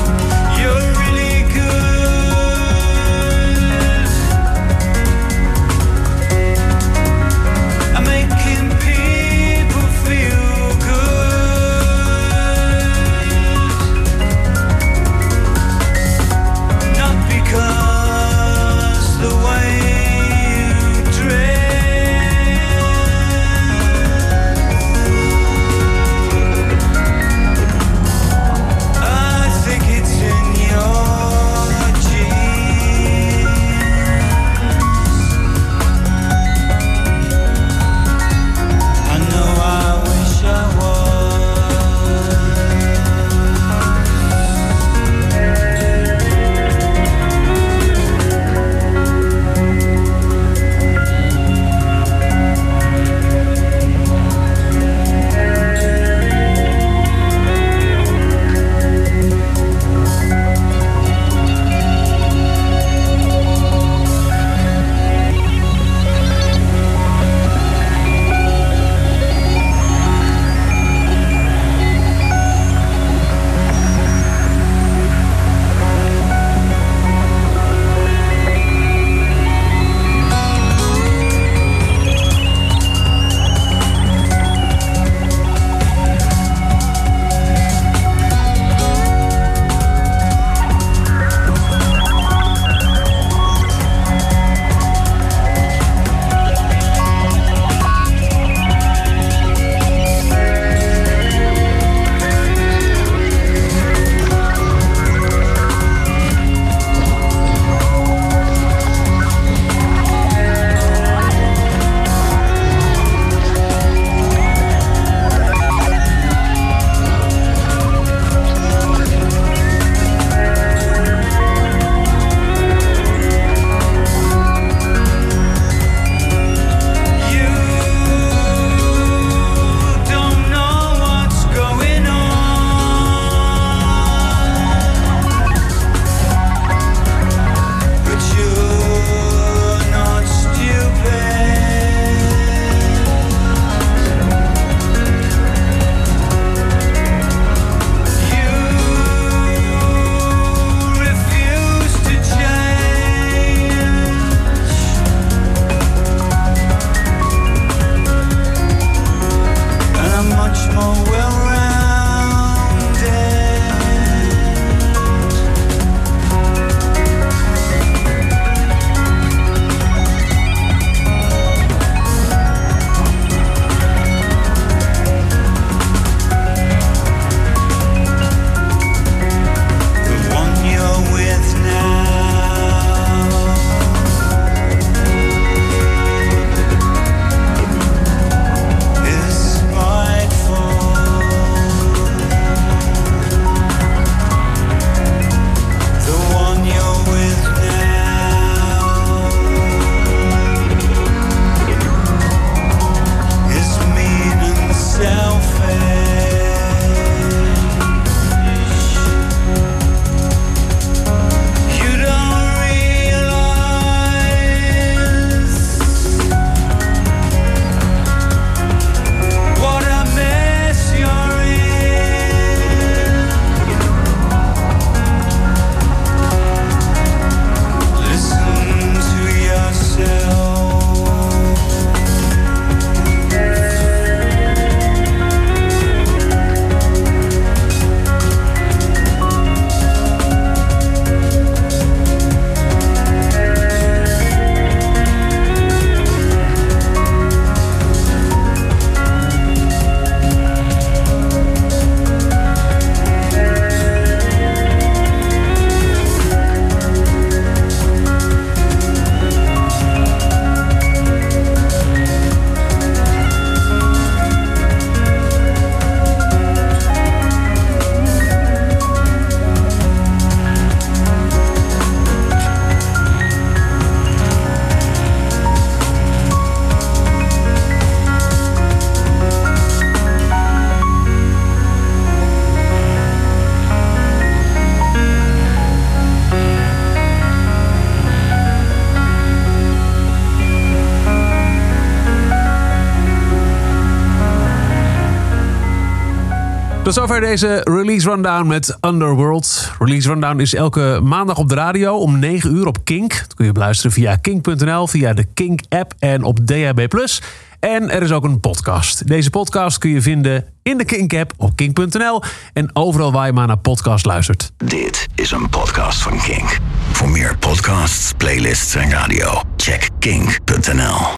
Tot zover deze Release Rundown met Underworld. Release Rundown is elke maandag op de radio om negen uur op Kink. Dat kun je beluisteren via kink punt n l, via de Kink-app en op D H B plus. En er is ook een podcast. Deze podcast kun je vinden in de Kink-app op kink punt n l en overal waar je maar naar podcast luistert. Dit is een podcast van Kink. Voor meer podcasts, playlists en radio, check kink punt n l.